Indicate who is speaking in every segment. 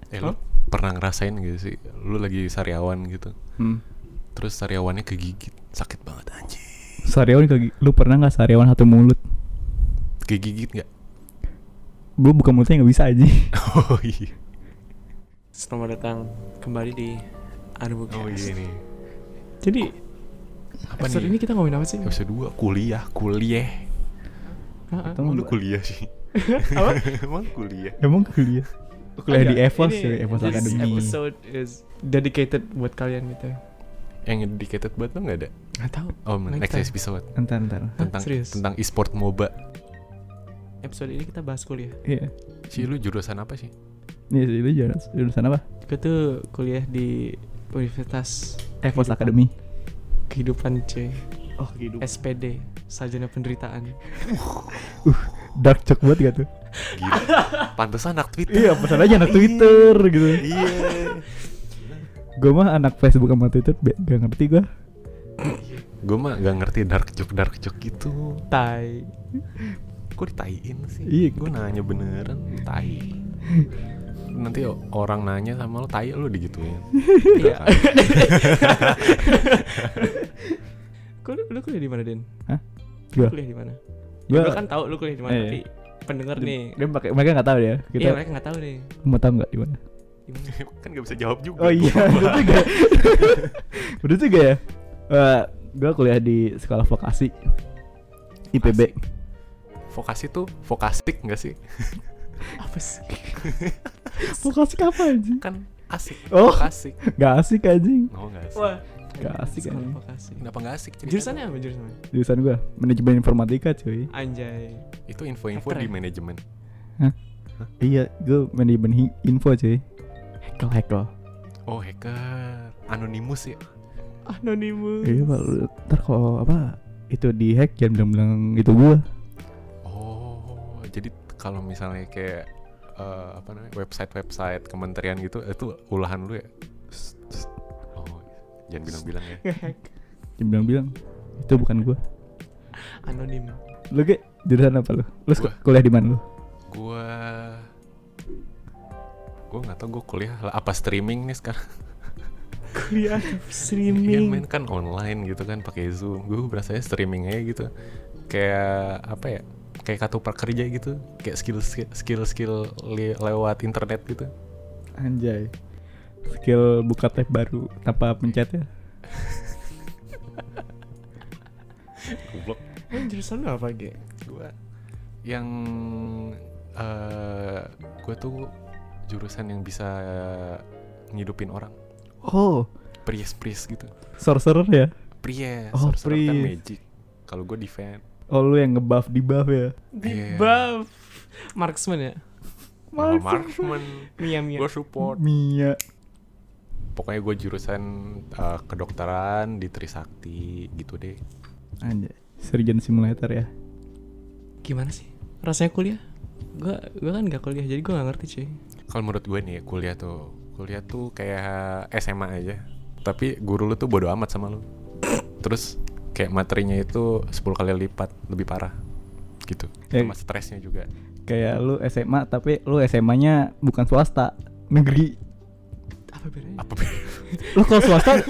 Speaker 1: Lu pernah ngerasain gitu sih, lu lagi sariawan gitu, terus sariawannya kegigit, sakit banget anjing.
Speaker 2: Sariawan lu pernah nggak sariawan satu mulut?
Speaker 1: Kegigit nggak?
Speaker 2: Gue buka mulutnya nggak bisa aja.
Speaker 1: Oh iya.
Speaker 3: Selamat datang kembali di Arbukes.
Speaker 1: Oh iya nih.
Speaker 3: Jadi
Speaker 1: Apa
Speaker 3: episode
Speaker 1: nih?
Speaker 3: ini kita ngomongin apa sih?
Speaker 1: Episode 2 kuliah.
Speaker 3: Hah?
Speaker 1: Emang lu kuliah sih?
Speaker 3: Apa?
Speaker 1: Emang kuliah?
Speaker 2: Emang kuliah di EVOS
Speaker 3: Ini,
Speaker 2: ya, EVOS
Speaker 3: this
Speaker 2: Academy.
Speaker 3: episode is dedicated buat kalian gitu.
Speaker 1: Yang dedicated buat lu nggak ada?
Speaker 3: Nggak tahu.
Speaker 1: Oh, next episode
Speaker 2: Ntar.
Speaker 3: Serius?
Speaker 1: tentang e-sport MOBA.
Speaker 3: Episode ini kita bahas kuliah.
Speaker 2: Iya.
Speaker 1: Si lu jurusan apa sih?
Speaker 2: Nih sih lu jurusan apa?
Speaker 3: Gue tuh kuliah di Universitas
Speaker 2: EVOS Academy.
Speaker 3: Kehidupan C.
Speaker 2: Oh gitu.
Speaker 3: SPD, Sarjana Penderitaan.
Speaker 2: Dark joke banget gak tuh?
Speaker 1: Gila. Pantesan anak Twitter.
Speaker 2: Iya, pesan aja anak Twitter gitu.
Speaker 1: Iya.
Speaker 2: Gue mah anak Facebook sama Twitter gak ngerti gue.
Speaker 1: Gue mah gak ngerti dark joke gitu.
Speaker 3: Tai.
Speaker 1: Kok ditaiin sih?
Speaker 2: Iya.
Speaker 1: Gue nanya beneran, tai. Nanti orang nanya sama lo, tai lo digituin.
Speaker 3: Iya. Lu kuliah di mana, Den?
Speaker 2: Hah?
Speaker 3: Lu
Speaker 2: Gua?
Speaker 3: kuliah di mana?
Speaker 2: Gua-
Speaker 3: Lu kan tahu lu kuliah di mana,
Speaker 2: Iya.
Speaker 3: tapi pendengar nih.
Speaker 2: Mereka nggak tahu ya.
Speaker 3: Iya,
Speaker 2: Kita
Speaker 3: mereka nggak tahu nih.
Speaker 2: mau tahu nggak di mana?
Speaker 3: Di mana?
Speaker 1: Kan gak bisa jawab juga.
Speaker 2: Oh iya, betul juga. Betul juga ya. Gue kuliah di sekolah vokasi IPB.
Speaker 1: Vokasi tuh vokastik gak sih?
Speaker 3: Apa sih?
Speaker 2: Vokasi apa anjing?
Speaker 1: Kan asik.
Speaker 2: Oh.
Speaker 1: Vokasik.
Speaker 2: Gak asik anjing.
Speaker 1: Oh gak asik.
Speaker 3: Wah,
Speaker 2: Gak asik
Speaker 3: sekolah
Speaker 2: anjing.
Speaker 3: vokasi.
Speaker 1: Kenapa gak asik? Cerita.
Speaker 3: Jurusannya apa jurusannya?
Speaker 2: Jurusan gue manajemen informatika cuy.
Speaker 3: Anjay.
Speaker 1: Itu info-info
Speaker 3: Hacker
Speaker 1: di
Speaker 3: ya?
Speaker 1: manajemen.
Speaker 2: Iya, gue manajemen info cuy. Hekel.
Speaker 1: Oh hacker. Anonymous ya?
Speaker 3: Anonymous.
Speaker 2: Iya pak, ntar kalau apa itu di hack jangan bilang-bilang itu gue.
Speaker 1: Oh, jadi kalau misalnya kayak apa namanya, website kementerian gitu, itu ulahan lu ya? Oh, jangan bilang-bilang ya.
Speaker 2: Jangan bilang-bilang itu bukan gue.
Speaker 3: Anonim.
Speaker 2: Lu ke jurusan apa lu? Lu
Speaker 1: Gua.
Speaker 2: kuliah di mana lu?
Speaker 1: Gue nggak tahu gue kuliah apa streaming nih sekarang.
Speaker 3: Kuliah
Speaker 1: Iya
Speaker 3: streaming.
Speaker 1: main kan online gitu kan pakai Zoom. Gue berasanya streaming aja gitu. Kayak apa ya? Kayak kartu prakerja gitu. Kayak skill lewat internet gitu.
Speaker 2: Anjay. Skill buka tab baru tanpa pencet ya.
Speaker 1: Goblok.
Speaker 3: Jurusan lu apa, Ge?
Speaker 1: Gue yang gue tuh jurusan yang bisa ngidupin orang.
Speaker 2: Oh,
Speaker 1: Priest gitu.
Speaker 2: sorcerer ya?
Speaker 1: Priest.
Speaker 2: Oh,
Speaker 1: Sorcerer kan
Speaker 2: priest.
Speaker 1: magic. Kalau gue defend.
Speaker 2: Oh, lu yang ngebuff di buff ya?
Speaker 3: Di
Speaker 1: Iya.
Speaker 3: buff. Marksman ya?
Speaker 1: Marksman.
Speaker 3: Mia.
Speaker 1: Gue support.
Speaker 2: Mia.
Speaker 1: Pokoknya gue jurusan kedokteran di Trisakti gitu deh.
Speaker 2: Anjay. Surgeon simulator ya?
Speaker 3: Gimana sih? Rasanya kuliah? Gua kan gak kuliah, jadi gua gak ngerti cuy.
Speaker 1: Kalau menurut gue nih kuliah tuh kayak SMA aja. Tapi guru lu tuh bodo amat sama lu. Terus kayak materinya itu 10 kali lipat lebih parah gitu. Sama stresnya juga.
Speaker 2: Kayak lu SMA tapi lu SMA-nya bukan swasta, negeri.
Speaker 3: Apa bedanya?
Speaker 1: Apa?
Speaker 2: Lu kalau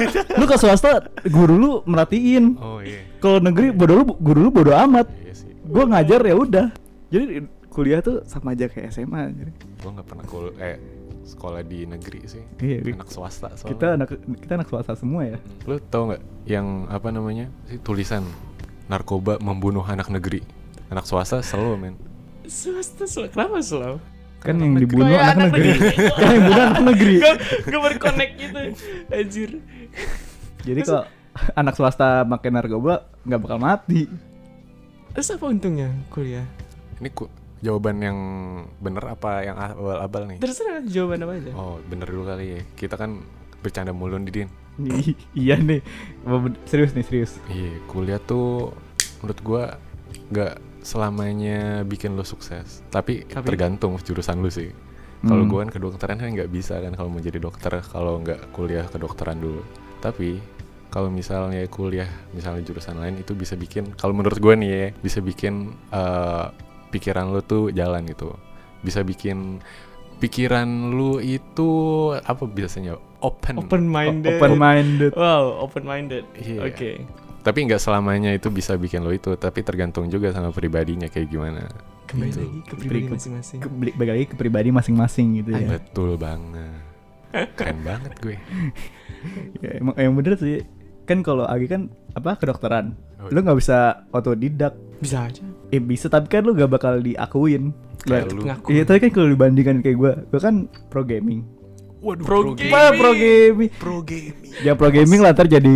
Speaker 2: swasta guru lu merhatiin.
Speaker 1: Oh iya.
Speaker 2: Kalau negeri guru lu bodo amat.
Speaker 1: Iya sih.
Speaker 2: Gua ngajar ya udah. Jadi kuliah tuh sama aja kayak SMA.
Speaker 1: Gue nggak pernah sekolah di negeri sih.
Speaker 2: Iya,
Speaker 1: Anak swasta soalnya.
Speaker 2: kita anak swasta semua ya.
Speaker 1: Lu tau nggak yang apa namanya sih tulisan narkoba membunuh anak negeri, anak swasta selalu men.
Speaker 3: Swasta kenapa selalu?
Speaker 2: Kan yang
Speaker 1: Anak
Speaker 2: dibunuh
Speaker 3: negeri.
Speaker 2: anak
Speaker 3: Anak
Speaker 2: negeri.
Speaker 3: negeri.
Speaker 2: Kan yang dibunuh anak negeri.
Speaker 3: Gak berconnect gitu. Anjir.
Speaker 2: Jadi kalau anak swasta makin narkoba nggak bakal mati.
Speaker 3: Terus apa untungnya kuliah?
Speaker 1: Ini jawaban yang bener apa yang abal-abal nih?
Speaker 3: Terserah jawaban apa aja.
Speaker 1: Oh bener dulu kali ya. Kita kan bercanda mulu nih Din.
Speaker 2: Iya nih. Serius.
Speaker 1: Iya kuliah tuh menurut gua nggak selamanya bikin lo sukses. Tapi tergantung jurusan lu sih. Kalau gua kan kedokteran kan nggak bisa kan kalau mau jadi dokter kalau nggak kuliah kedokteran dulu. Tapi kalau misalnya kuliah misalnya jurusan lain itu bisa bikin, kalau menurut gue nih ya, bisa bikin pikiran lo tuh jalan gitu, bisa bikin pikiran lu itu apa biasanya open
Speaker 3: Open-minded.
Speaker 2: Open-minded.
Speaker 3: Wow, open-minded.
Speaker 1: Iya.
Speaker 3: Oke.
Speaker 1: Tapi nggak selamanya itu bisa bikin lo itu, tapi tergantung juga sama pribadinya kayak gimana.
Speaker 3: Kembali
Speaker 1: Gitu.
Speaker 3: lagi ke pribadi masing-masing.
Speaker 2: Balik lagi ke pribadi masing-masing gitu ya.
Speaker 1: Betul banget. Keren banget gue.
Speaker 2: Ya, emang bener sih. Kan kalau Agi kan apa kedokteran,
Speaker 1: Oh,
Speaker 2: lu nggak bisa otodidak.
Speaker 3: Bisa aja.
Speaker 2: Bisa tapi kan lu gak bakal diakuin.
Speaker 1: Kayak lu.
Speaker 3: Ngaku.
Speaker 2: Iya, tapi kan kalau dibandingkan kayak gue kan pro gaming.
Speaker 1: Waduh,
Speaker 3: Pro
Speaker 1: gaming.
Speaker 2: Wah, pro gaming.
Speaker 1: Pro gaming.
Speaker 2: Ya pro gaming lah ntar jadi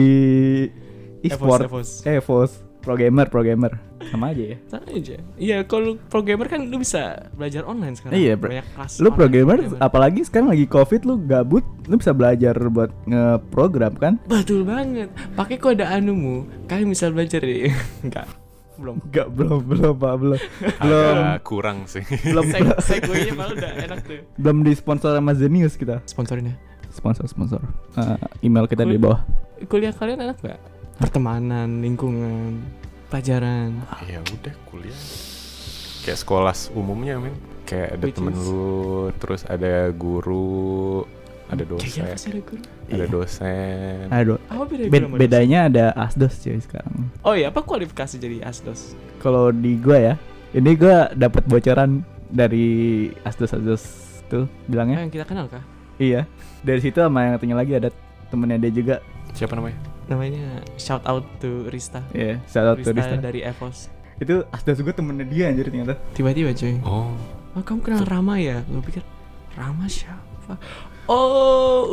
Speaker 2: e-sport.
Speaker 3: Evos.
Speaker 2: EVOS. Pro gamer. Sama aja ya.
Speaker 3: Sama aja. Iya, kalau pro gamer kan lu bisa belajar online sekarang.
Speaker 2: Iya,
Speaker 3: banyak kelas.
Speaker 2: Lu pro
Speaker 3: online
Speaker 2: gamer apalagi sekarang lagi Covid lu gabut, lu bisa belajar buat ngeprogram kan?
Speaker 3: Betul banget. Pakai kode anumu, kalian bisa belajar deh. Enggak. Belum.
Speaker 2: Enggak, belum, Pak, belum.
Speaker 1: Agak kurang sih.
Speaker 2: belum
Speaker 3: Segway-nya malah udah enak tuh.
Speaker 2: belum disponsor sama Zenius kita.
Speaker 3: Sponsorin ya.
Speaker 2: Sponsor. Email kita di bawah.
Speaker 3: Kuliah kalian enak gak? Pertemanan, lingkungan, pelajaran.
Speaker 1: Ya udah kuliah. Kayak sekolah umumnya men. Kayak ada
Speaker 3: Which
Speaker 1: temen
Speaker 3: is-
Speaker 1: lu, terus ada guru, ada
Speaker 3: Kayak
Speaker 1: dosen,
Speaker 3: apa sih ada guru?
Speaker 1: ada dosen.
Speaker 2: Aduh.
Speaker 3: Apa beda guru sama
Speaker 2: Bedanya ada asdos cuy sekarang.
Speaker 3: dosen? Oh iya, apa kualifikasi jadi asdos?
Speaker 2: Kalau di gua ya, ini gua dapat bocoran dari asdos tuh bilangnya.
Speaker 3: Yang kita kenal kah?
Speaker 2: Iya. Dari situ sama yang satunya lagi ada temennya dia juga.
Speaker 1: Siapa namanya?
Speaker 3: Namanya shout out to Rista.
Speaker 2: Iya, shout out to
Speaker 3: Rista
Speaker 2: Rista.
Speaker 3: dari Evos.
Speaker 2: Itu asdos gua temennya dia anjir ternyata.
Speaker 3: Tiba-tiba cuy.
Speaker 1: Oh,
Speaker 3: Kamu kenal Rama ya? Gue pikir Rama siapa? Oh,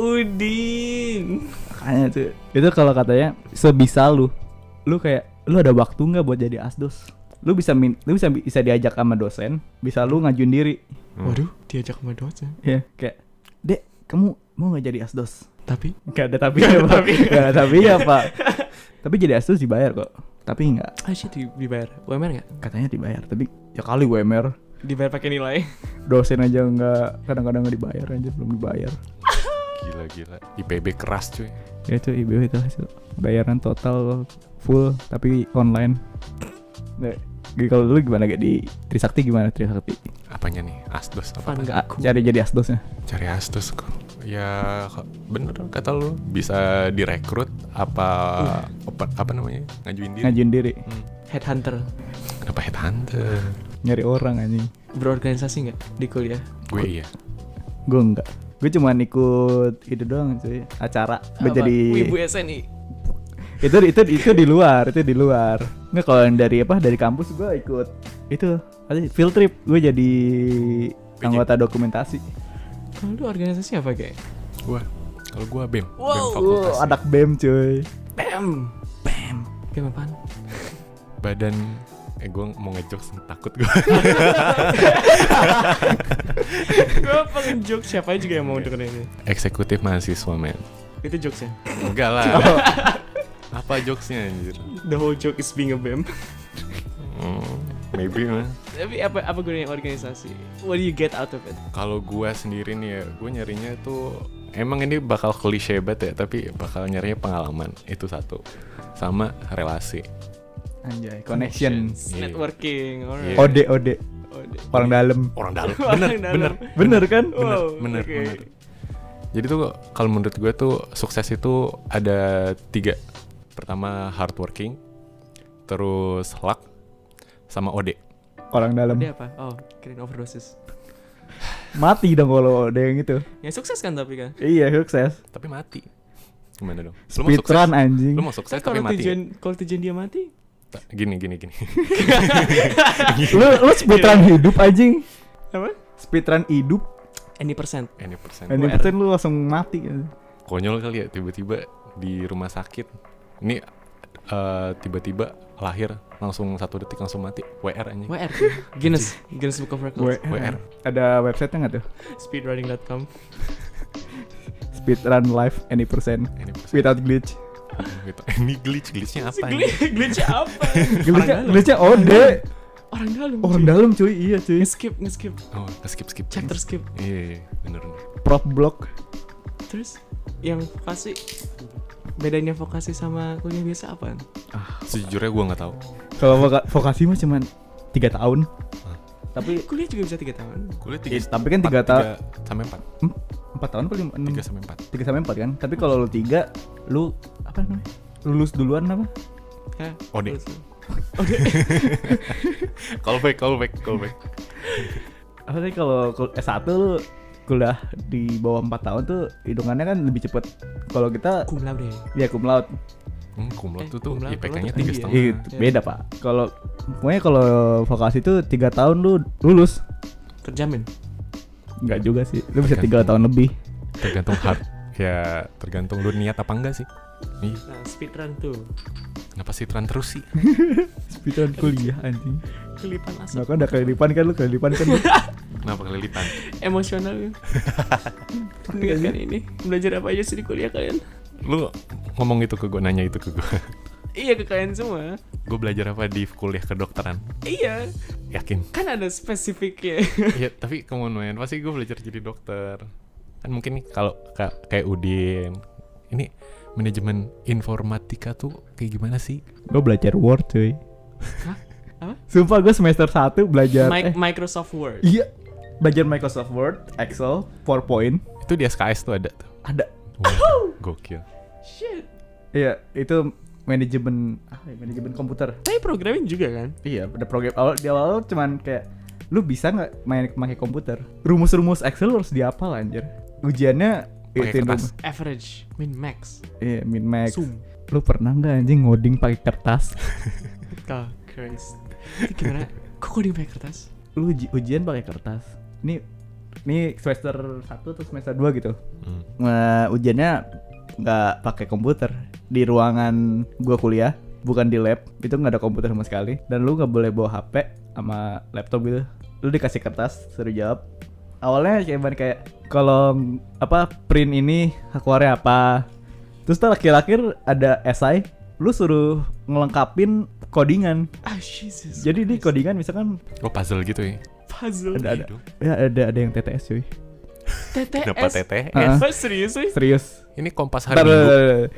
Speaker 3: Udin.
Speaker 2: Makanya tuh. Itu kalau katanya sebisa lu kayak lu ada waktu nggak buat jadi asdos? Lu bisa diajak sama dosen, bisa lu ngajuin diri.
Speaker 3: Waduh, diajak sama dosen.
Speaker 2: Ya, kayak, "Dek, kamu mau nggak jadi asdos?"
Speaker 3: Tapi
Speaker 2: Gak ada tapi ya, Pak. Gak ada tapi ya, Pak. Tapi jadi asdos dibayar kok. Tapi enggak.
Speaker 3: shit, dibayar. UMR nggak?
Speaker 2: Katanya dibayar, tapi ya kali UMR.
Speaker 3: Dibayar pakai nilai.
Speaker 2: Dosen aja enggak, kadang-kadang enggak dibayar aja, belum dibayar.
Speaker 1: gila. IPB keras cuy.
Speaker 2: Ya itu IBW itu hasil bayaran total full tapi online. Nggak, kalau dulu gimana gak di Trisakti gimana Trisakti?
Speaker 1: Apanya nih? Asdos apa?
Speaker 3: Fun
Speaker 1: apa?
Speaker 3: nggak? Aku.
Speaker 2: Cari jadi asdosnya.
Speaker 1: Cari asdos kok. Ya bener kata lu, bisa direkrut apa apa namanya? Ngajuin diri.
Speaker 2: Ngajuin diri,
Speaker 3: Headhunter.
Speaker 1: Kenapa headhunter?
Speaker 2: nyari orang anjing.
Speaker 3: Berorganisasi nggak di kuliah?
Speaker 1: Gue iya.
Speaker 2: Gue enggak. Gue cuman ikut itu doang cuy, acara. Gue
Speaker 3: Apa?
Speaker 2: jadi
Speaker 3: Wibu SNI.
Speaker 2: itu di luar. Nggak, kalau yang dari kampus gue ikut itu field trip. Gue jadi anggota dokumentasi.
Speaker 3: Kalau lu organisasi apa kayak?
Speaker 1: Kalau gue BEM.
Speaker 3: Wow.
Speaker 1: BEM fakultas.
Speaker 2: Anak BEM cuy.
Speaker 3: BEM. BEM apaan?
Speaker 1: Badan gue mau ngejokes takut gue.
Speaker 3: Gue pengen joke, siapa juga yang mau dengerin ini.
Speaker 1: Eksekutif mahasiswa men.
Speaker 3: Itu jokesnya.
Speaker 1: Enggak lah. Apa jokesnya anjir?
Speaker 3: The whole joke is being a BEM.
Speaker 1: Maybe man.
Speaker 3: Tapi apa gunanya organisasi? What do you get out of it?
Speaker 1: Kalau gue sendiri nih ya, gue nyarinya tuh emang ini bakal klise banget ya, tapi bakal nyarinya pengalaman itu satu, sama relasi.
Speaker 2: Anjay, connection.
Speaker 1: Iya.
Speaker 3: Networking. Alright.
Speaker 1: Iya.
Speaker 2: Ode. Orang dalam.
Speaker 1: Orang dalam.
Speaker 3: Orang dalam.
Speaker 2: Bener kan?
Speaker 1: Bener.
Speaker 3: Oke.
Speaker 1: Jadi tuh kalau menurut gue tuh sukses itu ada 3. Pertama hardworking, terus luck, sama OD.
Speaker 2: Orang dalam.
Speaker 3: Dia apa? Oh, kirain overdosis.
Speaker 2: Mati dong kalau ada yang itu.
Speaker 3: Yang sukses kan tapi kan?
Speaker 2: Iya, sukses.
Speaker 1: Tapi mati. Gimana dong?
Speaker 2: Speedrun anjing.
Speaker 1: Lu mau sukses
Speaker 3: Kan
Speaker 1: tapi mati.
Speaker 3: kalau tujuan dia mati,
Speaker 1: Gini.
Speaker 2: lu speedrun hidup anjing.
Speaker 3: apa?
Speaker 2: Speedrun hidup.
Speaker 3: Any percent.
Speaker 1: Any percent.
Speaker 2: Ini persen lu langsung mati.
Speaker 1: Konyol kali ya tiba-tiba di rumah sakit. Ini tiba-tiba lahir langsung 1 detik langsung mati. WR anjing.
Speaker 3: WR. Guinness Book of Records.
Speaker 2: WR. Ada website-nya nggak tuh?
Speaker 3: Speedrunning.com.
Speaker 2: Speedrun live any percent
Speaker 1: Any percent.
Speaker 2: without glitch.
Speaker 1: Gitu. Ini glitchnya apa nih?
Speaker 3: Glitch apa?
Speaker 2: Glitchnya ode.
Speaker 3: Orang dalam.
Speaker 2: Cuy, iya cuy.
Speaker 3: Skip.
Speaker 1: Oh, skip.
Speaker 3: Chapter skip.
Speaker 1: Iya, bener.
Speaker 2: Prop block.
Speaker 3: Terus yang vokasi, bedanya vokasi sama kuliah biasa apaan?
Speaker 1: Sejujurnya gue nggak tahu.
Speaker 2: Kalau vokasi mah cuman 3 tahun. Tapi
Speaker 3: Kuliah juga bisa 3 tahun.
Speaker 1: Kuliah
Speaker 2: tapi kan 3 tahun.
Speaker 1: sampai 4.
Speaker 2: 4 tahun apa 6?
Speaker 1: 3 sampai 4.
Speaker 2: 3 sampai 4 kan. Tapi kalau lu 3, lu apa namanya? Lulus duluan apa?
Speaker 3: Hah?
Speaker 1: Ode.
Speaker 3: Terus-
Speaker 1: Callback.
Speaker 2: Apa sih kalau S1 lu kuliah di bawah 4 tahun tuh hitungannya kan lebih cepet. Kalau kita
Speaker 3: Cum laude.
Speaker 2: ya cum laude.
Speaker 1: Cum laude tuh
Speaker 3: cum laude
Speaker 1: IPK-nya
Speaker 3: tinggi
Speaker 1: 3,5.
Speaker 2: Iya, beda pak. Kalau pokoknya kalau vokasi tuh 3 tahun lu lulus.
Speaker 3: Terjamin.
Speaker 2: Enggak juga sih. Lu bisa 3
Speaker 1: Tergantung.
Speaker 2: tahun lebih.
Speaker 1: Tergantung hard. Ya tergantung lu niat apa enggak sih. Nih,
Speaker 3: Nah, speedrun tuh.
Speaker 1: kenapa sih tren terus sih?
Speaker 2: Speedrun kuliah anjing.
Speaker 3: Kelipan
Speaker 2: Nah
Speaker 3: asap.
Speaker 2: kan udah kelilipan kan lu kelilipan kan.
Speaker 1: Kenapa kelilipan?
Speaker 3: Emosional ya. Mengingatkan ini. Belajar apa aja sih di kuliah kalian?
Speaker 1: Lu ngomong itu ke gue, nanya itu ke gue.
Speaker 3: Iya, ke kalian semua.
Speaker 1: Gue belajar apa di kuliah kedokteran?
Speaker 3: Iya.
Speaker 1: Yakin?
Speaker 3: Kan ada spesifiknya.
Speaker 1: Iya, tapi kemudian pasti gue belajar jadi dokter. Kan mungkin nih kalau kayak Udin, ini manajemen informatika tuh kayak gimana sih?
Speaker 2: Gue belajar Word cuy.
Speaker 3: Hah? Apa?
Speaker 2: Sumpah gue semester 1 belajar
Speaker 3: Microsoft Word.
Speaker 2: Iya. Belajar Microsoft Word, Excel, PowerPoint.
Speaker 1: Itu di SKS tuh ada tuh.
Speaker 2: Ada.
Speaker 1: Wah, gokil.
Speaker 3: Shit.
Speaker 2: Iya, itu manajemen manajemen komputer.
Speaker 3: Tapi programming juga kan?
Speaker 2: Iya, ada program di awal cuman kayak lu bisa nggak pakai komputer? Rumus-rumus Excel harus dihafal anjir. Ujiannya
Speaker 1: Pakai
Speaker 2: itu
Speaker 1: kertas.
Speaker 3: Average, min max,
Speaker 2: Iya, min max.
Speaker 3: sum.
Speaker 2: Lu pernah nggak anjing ngoding pakai kertas?
Speaker 3: Oh, Christ. Itu gimana? Kok coding pakai kertas?
Speaker 2: Lu ujian pakai kertas. Ini semester 1 atau semester 2 gitu. Nah, ujiannya nggak pakai komputer. Di ruangan gua kuliah, bukan di lab. Itu nggak ada komputer sama sekali. Dan lu nggak boleh bawa HP sama laptop gitu. Lu dikasih kertas, suruh jawab. Awalnya kayak kalau apa print ini keluarnya apa. Terus ntar akhir-akhir ada esai, lu suruh ngelengkapin codingan.
Speaker 3: Ah, Jesus.
Speaker 2: Jadi di
Speaker 3: Christ.
Speaker 2: codingan misalkan
Speaker 1: Oh, puzzle gitu ya?
Speaker 3: Puzzle.
Speaker 2: ada
Speaker 1: Gitu.
Speaker 2: ya ada yang TTS cuy.
Speaker 3: TTS.
Speaker 1: Kenapa TTS?
Speaker 2: Heeh.
Speaker 3: Serius sih?
Speaker 2: Serius.
Speaker 1: Ini Kompas hari
Speaker 2: Ntar,
Speaker 1: Minggu.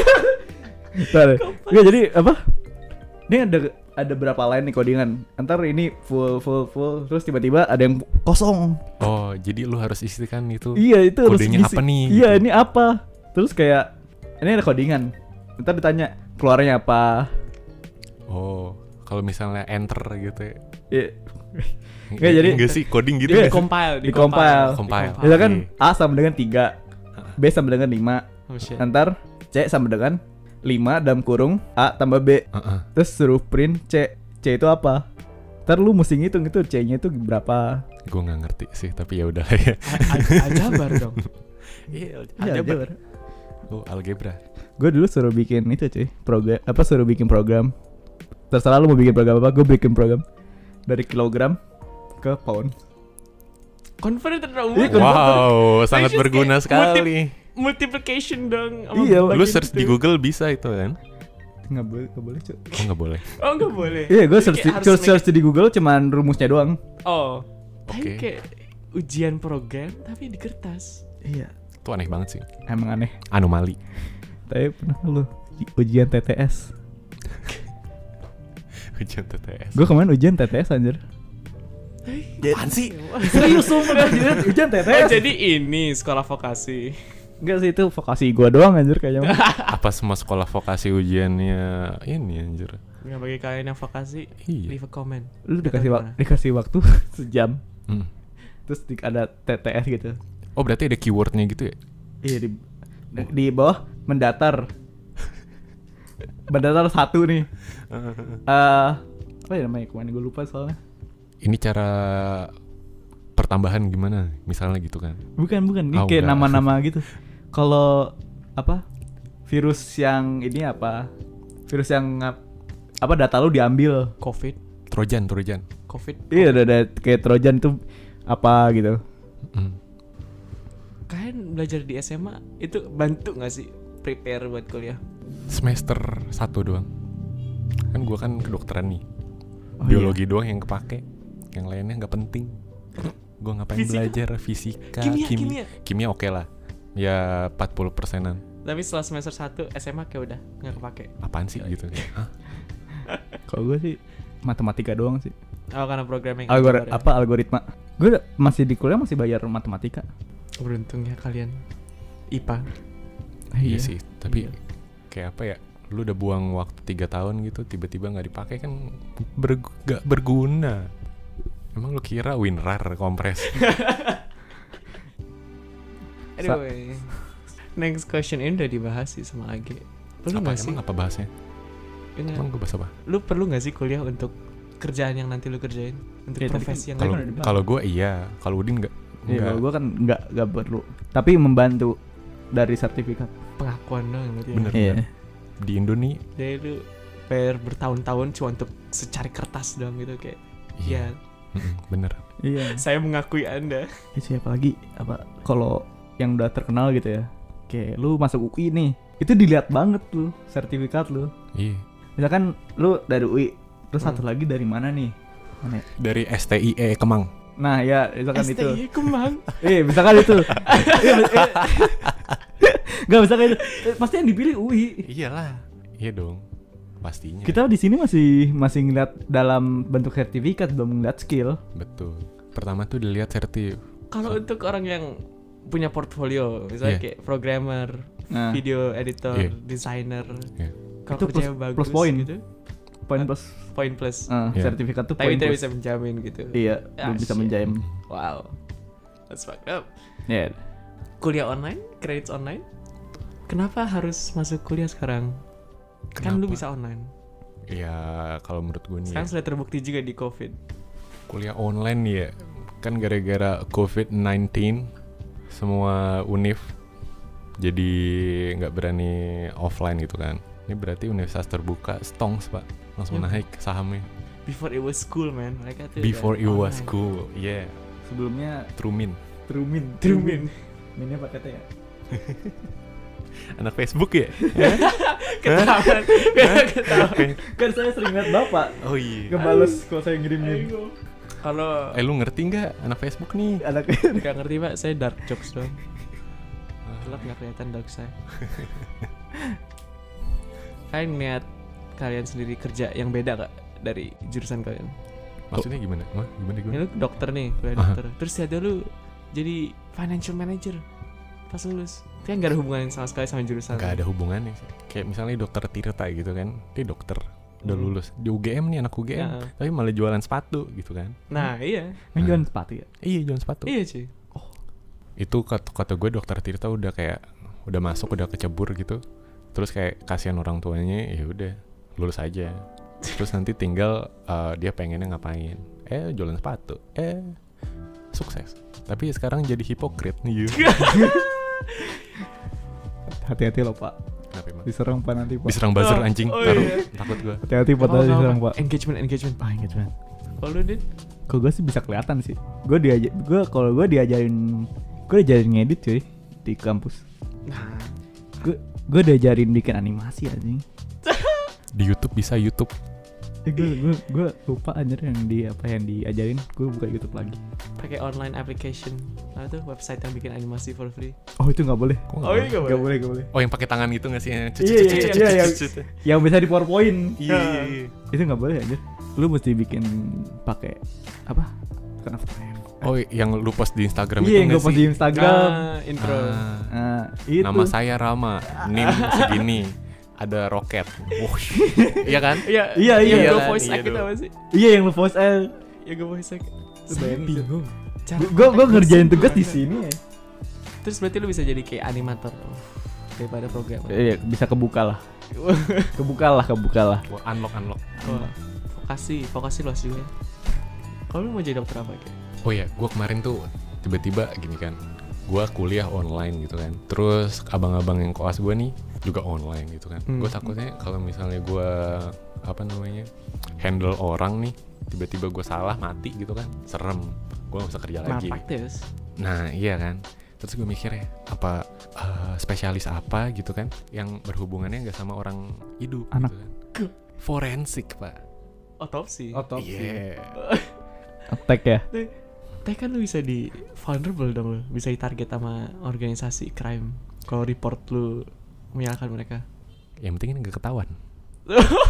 Speaker 2: Ntar. Nggak, jadi apa? Ini ada berapa line nih codingan. Ntar ini full terus tiba-tiba ada yang kosong.
Speaker 1: Oh, jadi lu harus isikan itu.
Speaker 2: Iya, itu harus
Speaker 1: Kodenya
Speaker 2: ngisi.
Speaker 1: apa nih?
Speaker 2: Iya,
Speaker 1: Gitu.
Speaker 2: ini apa? Terus kayak ini ada codingan. Ntar ditanya keluarnya apa.
Speaker 1: Oh, kalau misalnya enter gitu ya.
Speaker 2: Iya. Nggak, jadi-
Speaker 1: enggak sih coding gitu
Speaker 2: Iya.
Speaker 1: nggak sih?
Speaker 3: Compile,
Speaker 2: Di-compile.
Speaker 1: Compile.
Speaker 2: Itu kan A sama dengan 3, B sama dengan 5.
Speaker 3: Oh shit.
Speaker 2: Ntar C sama dengan 5 dalam kurung A tambah B.
Speaker 1: Heeh.
Speaker 2: Terus suruh print C. C itu apa? Ntar lu mesti ngitung itu C-nya itu berapa.
Speaker 1: Gue nggak ngerti sih, tapi ya udah lah ya.
Speaker 3: Ajabar dong.
Speaker 1: Iya,
Speaker 2: Iya,
Speaker 1: algebra. Oh, algebra.
Speaker 2: Gue dulu suruh bikin itu cuy, suruh bikin program. Terserah lu mau bikin program apa, gue bikin program dari kilogram ke pound.
Speaker 3: Converted dong.
Speaker 2: Iya,
Speaker 1: Wow, sangat
Speaker 3: Just
Speaker 1: berguna
Speaker 3: kayak
Speaker 1: sekali.
Speaker 3: Multiplication dong. sama
Speaker 2: Iya,
Speaker 1: Lu
Speaker 3: bagian
Speaker 1: search
Speaker 3: itu.
Speaker 1: di Google bisa itu kan?
Speaker 2: Nggak boleh cuy.
Speaker 1: Oh, nggak boleh.
Speaker 3: Oh, nggak boleh.
Speaker 2: Iya, gue
Speaker 3: Jadi kayak harus
Speaker 2: search di Google cuman rumusnya doang.
Speaker 3: Oh.
Speaker 1: Oke.
Speaker 3: Tapi kayak ujian program tapi di kertas.
Speaker 2: Iya,
Speaker 1: Itu aneh banget sih.
Speaker 2: emang aneh.
Speaker 1: Anomali.
Speaker 2: Tapi pernah lu ujian TTS?
Speaker 1: Ujian TTS.
Speaker 2: Gue kemarin ujian TTS anjir.
Speaker 1: Apaan sih?
Speaker 2: Serius sumpah ujian
Speaker 3: Oh,
Speaker 2: TTS.
Speaker 3: jadi ini sekolah vokasi.
Speaker 2: Enggak sih, itu vokasi gue doang anjir kayaknya.
Speaker 1: Apa semua sekolah vokasi ujiannya ini anjir?
Speaker 3: Yang bagi kalian yang vokasi,
Speaker 1: Iya.
Speaker 3: leave a comment.
Speaker 2: Lu
Speaker 3: Kata gimana?
Speaker 2: dikasih waktu sejam.
Speaker 1: Hmm.
Speaker 2: Terus ada TTS gitu.
Speaker 1: Oh, berarti ada keywordnya gitu ya?
Speaker 2: Iya di bawah mendatar. Mendatar 1 nih. Apa ya namanya kemarin gue lupa soalnya.
Speaker 1: Ini cara pertambahan gimana? Misalnya gitu kan?
Speaker 2: Bukan ini
Speaker 1: Oh,
Speaker 2: kayak
Speaker 1: enggak.
Speaker 2: nama-nama gitu. Kalau apa virus yang ini apa? Virus yang apa data lu diambil.
Speaker 3: COVID.
Speaker 1: Trojan.
Speaker 3: COVID.
Speaker 2: Iya ada kayak Trojan itu apa gitu.
Speaker 1: Hmm.
Speaker 3: Kalian belajar di SMA itu bantu nggak sih prepare buat kuliah?
Speaker 1: Semester 1 doang. Kan gua kan kedokteran nih.
Speaker 2: Oh,
Speaker 1: Biologi doang yang kepake. Yang lainnya nggak penting. Gua ngapain
Speaker 3: Fisika?
Speaker 1: belajar fisika,
Speaker 3: Kimia.
Speaker 1: Kimia oke lah. Ya 40%-an.
Speaker 3: Tapi setelah semester 1 SMA kayak udah nggak kepake.
Speaker 1: Apaan sih gitu? Hah?
Speaker 2: Kalau gue sih matematika doang sih.
Speaker 3: Oh, karena programming.
Speaker 2: Algoritma. Gue masih di kuliah masih bayar matematika.
Speaker 3: Beruntung ya kalian IPA.
Speaker 1: Iya sih, tapi
Speaker 3: Iya.
Speaker 1: kayak apa ya? Lu udah buang waktu 3 tahun gitu, tiba-tiba nggak dipakai kan gak berguna. Emang lu kira WinRAR kompres?
Speaker 3: Anyway, next question ini udah dibahas sih sama Age. Perlu
Speaker 1: Apa
Speaker 3: nggak sih?
Speaker 1: emang apa bahasnya?
Speaker 3: Ini,
Speaker 1: Emang gue bahas apa?
Speaker 3: lu perlu nggak sih kuliah untuk kerjaan yang nanti lu kerjain, untuk
Speaker 2: Ya, tadi
Speaker 3: profesi yang
Speaker 2: kan-
Speaker 1: Kalau
Speaker 2: udah dibahas.
Speaker 1: kalau gue iya, kalau Udin nggak.
Speaker 2: Iya, kalau gue kan nggak perlu. Tapi membantu dari sertifikat.
Speaker 3: pengakuan dong berarti.
Speaker 1: Bener.
Speaker 2: Iya.
Speaker 1: Di Indo nih.
Speaker 3: Jadi lu bayar bertahun-tahun cuma untuk secari kertas doang gitu kayak. Ya,
Speaker 1: Bener.
Speaker 2: Iya.
Speaker 3: saya mengakui Anda.
Speaker 2: Siapa lagi apa kalau yang udah terkenal gitu ya. Kayak lu masuk UI nih. Itu dilihat banget tuh sertifikat lu.
Speaker 1: Iya.
Speaker 2: Misalkan lu dari UI, terus satu lagi dari mana nih? Mana ya?
Speaker 1: Dari STIE Kemang.
Speaker 2: Nah, ya, misalkan itu.
Speaker 3: STI Kemang.
Speaker 2: Misalkan itu. Enggak misalkan itu. Pasti yang dipilih UI.
Speaker 1: Iyalah. Iya dong. Pastinya.
Speaker 2: Kita di sini masih ngeliat dalam bentuk sertifikat, belum ngeliat skill.
Speaker 1: Betul. Pertama tuh dilihat sertif.
Speaker 3: Kalau untuk orang yang punya portfolio, misalnya
Speaker 1: Iya.
Speaker 3: kayak programmer,
Speaker 2: Nah,
Speaker 3: video editor,
Speaker 1: Iya.
Speaker 3: desainer.
Speaker 1: Iya.
Speaker 3: Kalau
Speaker 2: Itu
Speaker 3: kerjanya
Speaker 2: plus-
Speaker 3: bagus
Speaker 2: plus point.
Speaker 3: gitu,
Speaker 2: poin plus
Speaker 3: poin plus.
Speaker 1: Iya.
Speaker 2: sertifikat tuh
Speaker 3: Tapi
Speaker 2: poin
Speaker 3: tidak
Speaker 2: plus.
Speaker 3: bisa menjamin gitu.
Speaker 2: Iya,
Speaker 3: Ah,
Speaker 2: belum bisa
Speaker 3: shit.
Speaker 2: menjamin.
Speaker 3: Wow. That's fucked up.
Speaker 2: Iya.
Speaker 3: Kuliah online, credits online. Kenapa harus masuk kuliah sekarang? Kan lu
Speaker 1: Kenapa?
Speaker 3: bisa online.
Speaker 1: Ya kalau menurut gue nih
Speaker 3: Sekarang
Speaker 1: ya,
Speaker 3: sudah terbukti juga di COVID.
Speaker 1: kuliah online nih ya, kan gara-gara COVID-19 semua univ jadi nggak berani offline gitu kan. Ini berarti universitas terbuka stongs pak, langsung
Speaker 3: Yep.
Speaker 1: naik sahamnya.
Speaker 3: Before it was school, man. Mereka tuh
Speaker 1: Before
Speaker 3: udah
Speaker 1: it was
Speaker 3: online.
Speaker 1: cool, yeah.
Speaker 2: Sebelumnya
Speaker 1: Trumin,
Speaker 3: Trumin.
Speaker 2: Minnya pakai T ya.
Speaker 1: anak Facebook ya?
Speaker 3: Ketahuan. Ketahuan.
Speaker 2: Kan saya sering lihat Bapak
Speaker 1: Oh iya.
Speaker 2: ngebales kalau saya ngirimin.
Speaker 3: Kalau
Speaker 1: Lu ngerti nggak anak Facebook nih?
Speaker 2: Anaknya
Speaker 3: nggak ngerti pak, saya dark jokes doang. Gelap nggak kelihatan dark saya. Kalian ngeliat kalian sendiri kerja yang beda gak dari jurusan kalian?
Speaker 1: Maksudnya gimana? Wah, gimana
Speaker 3: Ini
Speaker 1: gue?
Speaker 3: lu dokter nih, kuliah
Speaker 1: Aha.
Speaker 3: dokter. Terus ada lu jadi financial manager pas lulus. Itu kan gak ada hubungan sama sekali sama jurusan.
Speaker 1: Nggak ada hubungannya sih. Kayak misalnya dokter Tirta gitu kan, dia dokter udah
Speaker 3: Hmm.
Speaker 1: lulus di UGM nih, anak UGM,
Speaker 3: Ya.
Speaker 1: tapi malah jualan sepatu gitu kan?
Speaker 3: Nah iya.
Speaker 2: main jualan sepatu ya.
Speaker 1: Iya jualan sepatu.
Speaker 3: Iya cuy.
Speaker 1: Itu kata gue dokter Tirta udah kayak udah masuk, udah kecebur gitu. Terus kayak kasihan orang tuanya, ya udah lulus aja. Terus nanti tinggal dia pengennya ngapain? Jualan sepatu. Sukses. Tapi sekarang jadi hipokrit nih.
Speaker 2: Hati-hati loh Pak,
Speaker 1: Kenapa emang?
Speaker 2: diserang Pak nanti Pak.
Speaker 1: Diserang buzzer
Speaker 3: Oh,
Speaker 1: anjing.
Speaker 3: oh
Speaker 1: Taruh,
Speaker 3: iya.
Speaker 1: takut gue.
Speaker 2: Hati-hati Pak, tadi diserang Pak.
Speaker 3: Engagement.
Speaker 2: Ah, engagement.
Speaker 3: Kalau lu Dit?
Speaker 2: Kalau gue sih bisa kelihatan sih. Kalau gue diajarin ngedit cuy di kampus.
Speaker 3: Nah,
Speaker 2: Gue diajarin bikin animasi anjing.
Speaker 1: Di YouTube bisa YouTube.
Speaker 2: Gue lupa anjir yang diajarin. Gue buka YouTube lagi.
Speaker 3: pakai online application. Nah, itu website yang bikin animasi for free.
Speaker 2: Oh itu nggak boleh.
Speaker 1: Kok nggak
Speaker 3: Oh,
Speaker 1: boleh?
Speaker 3: iya nggak
Speaker 2: Nggak
Speaker 3: boleh.
Speaker 2: boleh.
Speaker 1: Oh yang pakai tangan gitu nggak sih?
Speaker 2: Iya, yang bisa di PowerPoint.
Speaker 1: Iya.
Speaker 2: Itu nggak boleh anjir. Lu mesti bikin pakai apa? Bukan After Effects.
Speaker 1: Oh yang lu post di Instagram itu
Speaker 2: Iya, yang gue
Speaker 1: nggak
Speaker 2: post
Speaker 1: sih?
Speaker 2: di Instagram.
Speaker 3: Intro.
Speaker 1: Ah,
Speaker 2: Nah, itu.
Speaker 1: nama saya Rama, NIM segini, ada roket. Wush. Iya kan?
Speaker 3: Iya,
Speaker 2: Iya,
Speaker 3: yang
Speaker 2: iya.
Speaker 3: gue
Speaker 1: Iya,
Speaker 3: voice
Speaker 1: iya
Speaker 3: act itu
Speaker 1: dong.
Speaker 3: apa sih?
Speaker 2: Iya yang lu post
Speaker 3: Yang gue voice act.
Speaker 2: Lu
Speaker 3: Saya
Speaker 2: bayangin,
Speaker 3: bingung.
Speaker 2: Gue ngerjain tugas di sini ya.
Speaker 3: Terus berarti lu bisa jadi kayak animator daripada programmer.
Speaker 2: Iya, bisa kebuka lah. Kebuka lah.
Speaker 1: Wah, unlock.
Speaker 3: Wah, vokasi luas juga. Kalau lu mau jadi dokter apa kayak?
Speaker 1: Oh ya, gue kemarin tuh tiba-tiba gini kan, gue kuliah online gitu kan. Terus abang-abang yang koas gue nih juga online gitu kan. Gue takutnya kalau misalnya gue handle orang nih, tiba-tiba gue salah mati gitu kan, serem. Gue gak bisa kerja lagi.
Speaker 3: Malpraktis.
Speaker 1: Nah iya kan. Terus gue mikir ya, apa spesialis apa gitu kan yang berhubungannya gak sama orang hidup
Speaker 2: Anak.
Speaker 1: gitu kan. Forensik pak.
Speaker 3: Otopsi.
Speaker 1: Iya.
Speaker 2: Attack ya.
Speaker 3: Tapi kan lu bisa di vulnerable dong lu. Bisa ditarget sama organisasi crime. Kalau report lu menyalahkan mereka.
Speaker 1: Yang penting ini gak ketahuan.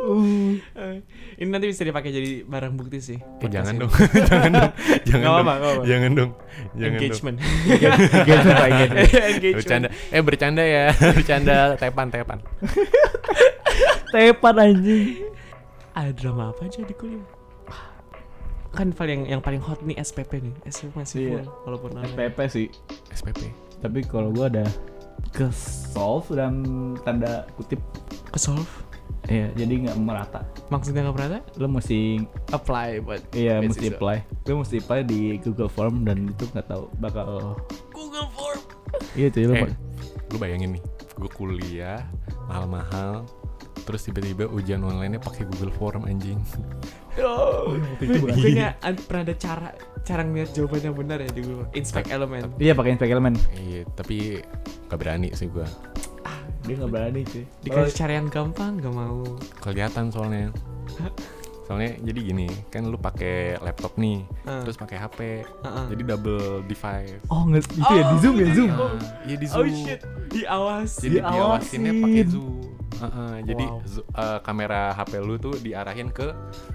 Speaker 3: Ini nanti bisa dipakai jadi barang bukti sih.
Speaker 1: Jangan
Speaker 3: Podcast
Speaker 1: dong.
Speaker 3: ini.
Speaker 1: Jangan dong. Jangan
Speaker 3: Nggak
Speaker 1: dong.
Speaker 3: apa-apa, nggak apa-apa.
Speaker 1: Jangan dong. Jangan
Speaker 3: Engagement.
Speaker 2: Engagement, Pak, engagement.
Speaker 3: Engagement.
Speaker 1: Bercanda. Bercanda ya. Bercanda tepan.
Speaker 2: Tepan anjing.
Speaker 3: Ada drama apa aja di kuliah? Kan yang paling hot nih SPP nih. SPP masih
Speaker 2: Iya.
Speaker 3: full walaupun online.
Speaker 2: SPP sih.
Speaker 1: SPP.
Speaker 2: Tapi kalau gua ada ke solve dan tanda kutip.
Speaker 3: Ke solve.
Speaker 2: Iya, jadi nggak merata.
Speaker 3: Maksudnya nggak pernah
Speaker 2: Lo mesti
Speaker 3: apply buat
Speaker 2: mesti
Speaker 3: beasiswa.
Speaker 2: apply. Lo mesti apply di Google Form dan itu nggak tahu bakal.
Speaker 3: Google Form.
Speaker 2: Iya cuy, lo
Speaker 1: Lu bayangin nih, gue kuliah mahal-mahal, terus tiba-tiba ujian online-nya pakai Google Form anjing.
Speaker 3: Oh,
Speaker 2: itu bukan.
Speaker 3: kayaknya pernah ada cara ngeliat jawabannya benar ya di Google. Inspect element.
Speaker 2: Iya pakai Inspect Element.
Speaker 1: Iya, tapi gak berani sih gue.
Speaker 2: Dia nggak berani cuy.
Speaker 3: Dikasih cara yang gampang nggak mau.
Speaker 1: Kelihatan soalnya. Soalnya jadi gini, kan lu pakai laptop nih, terus pakai HP, jadi double device.
Speaker 2: Oh nggak itu ya di Zoom ya Zoom.
Speaker 1: Iya di
Speaker 3: Oh
Speaker 1: Zoom.
Speaker 3: shit, diawas.
Speaker 1: Jadi diawasinnya pakai Zoom. Jadi
Speaker 3: Wow.
Speaker 1: kamera HP lu tuh diarahin ke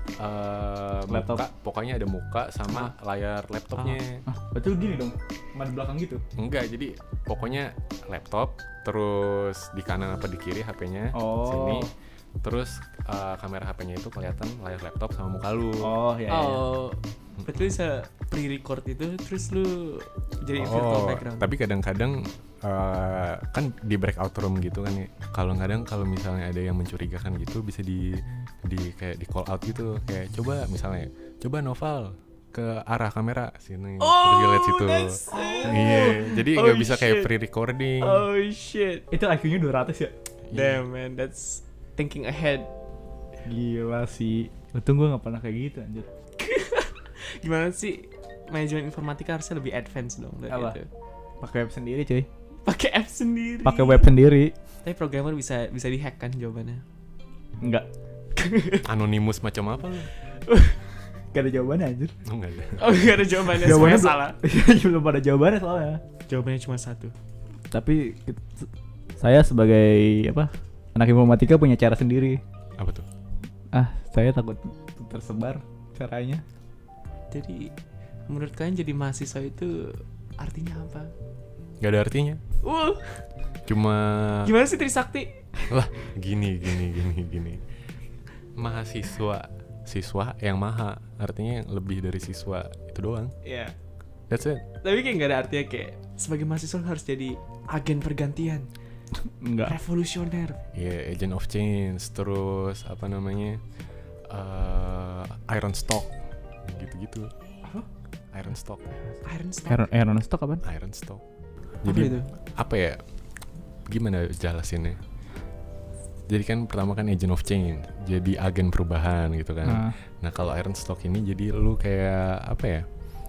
Speaker 2: Laptop.
Speaker 1: muka, pokoknya ada muka sama layar laptopnya.
Speaker 2: Betul gini dong, di belakang gitu.
Speaker 1: Enggak, jadi pokoknya laptop, terus di kanan apa di kiri HP-nya,
Speaker 2: Oh.
Speaker 1: sini, terus kamera HP-nya itu kelihatan layar laptop sama muka lu.
Speaker 2: Oh ya.
Speaker 3: Oh, berarti bisa pre-record itu terus lu jadi virtual background.
Speaker 1: Tapi kadang-kadang kan di breakout room gitu kan ya. Kalau misalnya ada yang mencurigakan gitu bisa di kayak di call out gitu, kayak coba Noval ke arah kamera sini, terus dia lihat situ. Iya, jadi nggak bisa kayak pre-recording.
Speaker 3: Oh shit.
Speaker 2: Itu IQ-nya 200 ya?
Speaker 3: Damn man, that's thinking ahead.
Speaker 2: Gila sih. Untung gue gak pernah kayak gitu anjir.
Speaker 3: Gimana sih manajemen informatika harusnya lebih advance dong dari
Speaker 2: Apa?
Speaker 3: itu.
Speaker 2: Pakai web sendiri cuy.
Speaker 3: Pakai app sendiri.
Speaker 2: Pakai web sendiri.
Speaker 3: Tapi programmer bisa dihack kan jawabannya.
Speaker 2: Enggak.
Speaker 1: Anonymous macam apa lu?
Speaker 2: Gak ada jawabannya anjir.
Speaker 1: Oh, enggak ada.
Speaker 3: Oh, gak ada jawabannya,
Speaker 2: Jawabannya
Speaker 3: semuanya salah.
Speaker 2: Belum ada jawabannya soalnya.
Speaker 3: Jawabannya cuma satu.
Speaker 2: Tapi saya sebagai anak informatika punya cara sendiri.
Speaker 1: Apa tuh?
Speaker 2: Saya takut tersebar caranya.
Speaker 3: Jadi menurut kalian jadi mahasiswa itu artinya apa?
Speaker 1: Gak ada artinya. Cuma
Speaker 3: Gimana sih Trisakti?
Speaker 1: lah gini. Siswa yang maha, artinya yang lebih dari siswa itu doang.
Speaker 3: Iya.
Speaker 1: That's it.
Speaker 3: Tapi kayak gak ada artinya kayak sebagai mahasiswa harus jadi agen pergantian,
Speaker 2: Enggak.
Speaker 3: revolusioner.
Speaker 1: Ya, agent of change, terus apa namanya, Iron Stock, gitu-gitu.
Speaker 3: Apa?
Speaker 1: Iron Stock.
Speaker 3: Iron Stock.
Speaker 2: Iron Stock apaan?
Speaker 1: Iron Stock.
Speaker 3: Apa
Speaker 1: Jadi
Speaker 3: itu?
Speaker 1: apa ya? Gimana jelasinnya? Jadi kan pertama kan agent of change, jadi agen perubahan gitu kan. Nah kalau Iron Stock ini jadi lu kayak apa ya?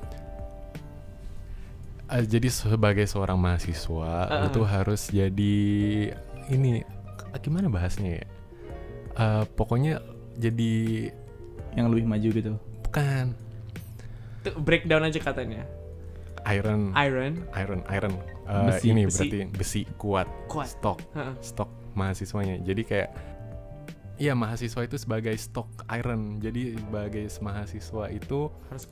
Speaker 1: Jadi sebagai seorang mahasiswa lu tuh harus jadi ini gimana bahasnya ya? Pokoknya jadi
Speaker 2: Yang lebih maju gitu.
Speaker 1: bukan
Speaker 3: Tuh, breakdown aja katanya.
Speaker 1: Iron.
Speaker 2: Besi.
Speaker 1: Ini
Speaker 3: Besi.
Speaker 1: berarti besi kuat.
Speaker 3: Kuat.
Speaker 1: Stok mahasiswanya. Jadi kayak iya, mahasiswa itu sebagai stok iron. Jadi sebagai mahasiswa itu